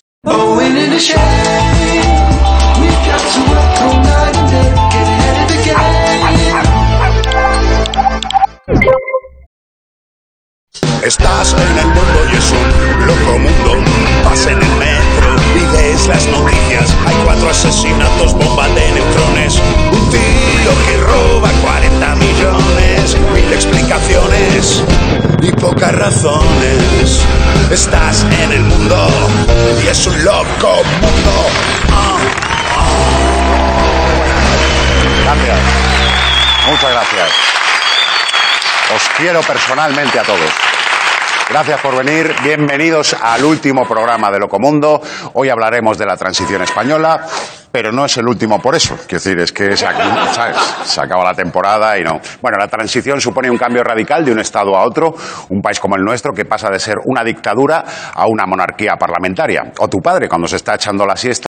Estás en el mundo y es un loco mundo. Vas en el metro y lees las noticias. Hay cuatro asesinatos, bomba de neutrones. Un tío que roba cuarenta millones. Mil explicaciones y pocas razones. Estás en el mundo y es un loco mundo. Ah, ah. Gracias. Muchas gracias. Os quiero personalmente a todos. Gracias por venir. Bienvenidos al último programa de Locomundo. Hoy hablaremos de la transición española, pero no es el último por eso. Quiero decir, es que se, ¿sabes? Se acaba la temporada y no. Bueno, la transición supone un cambio radical de un Estado a otro. Un país como el nuestro que pasa de ser una dictadura a una monarquía parlamentaria. O tu padre cuando se está echando la siesta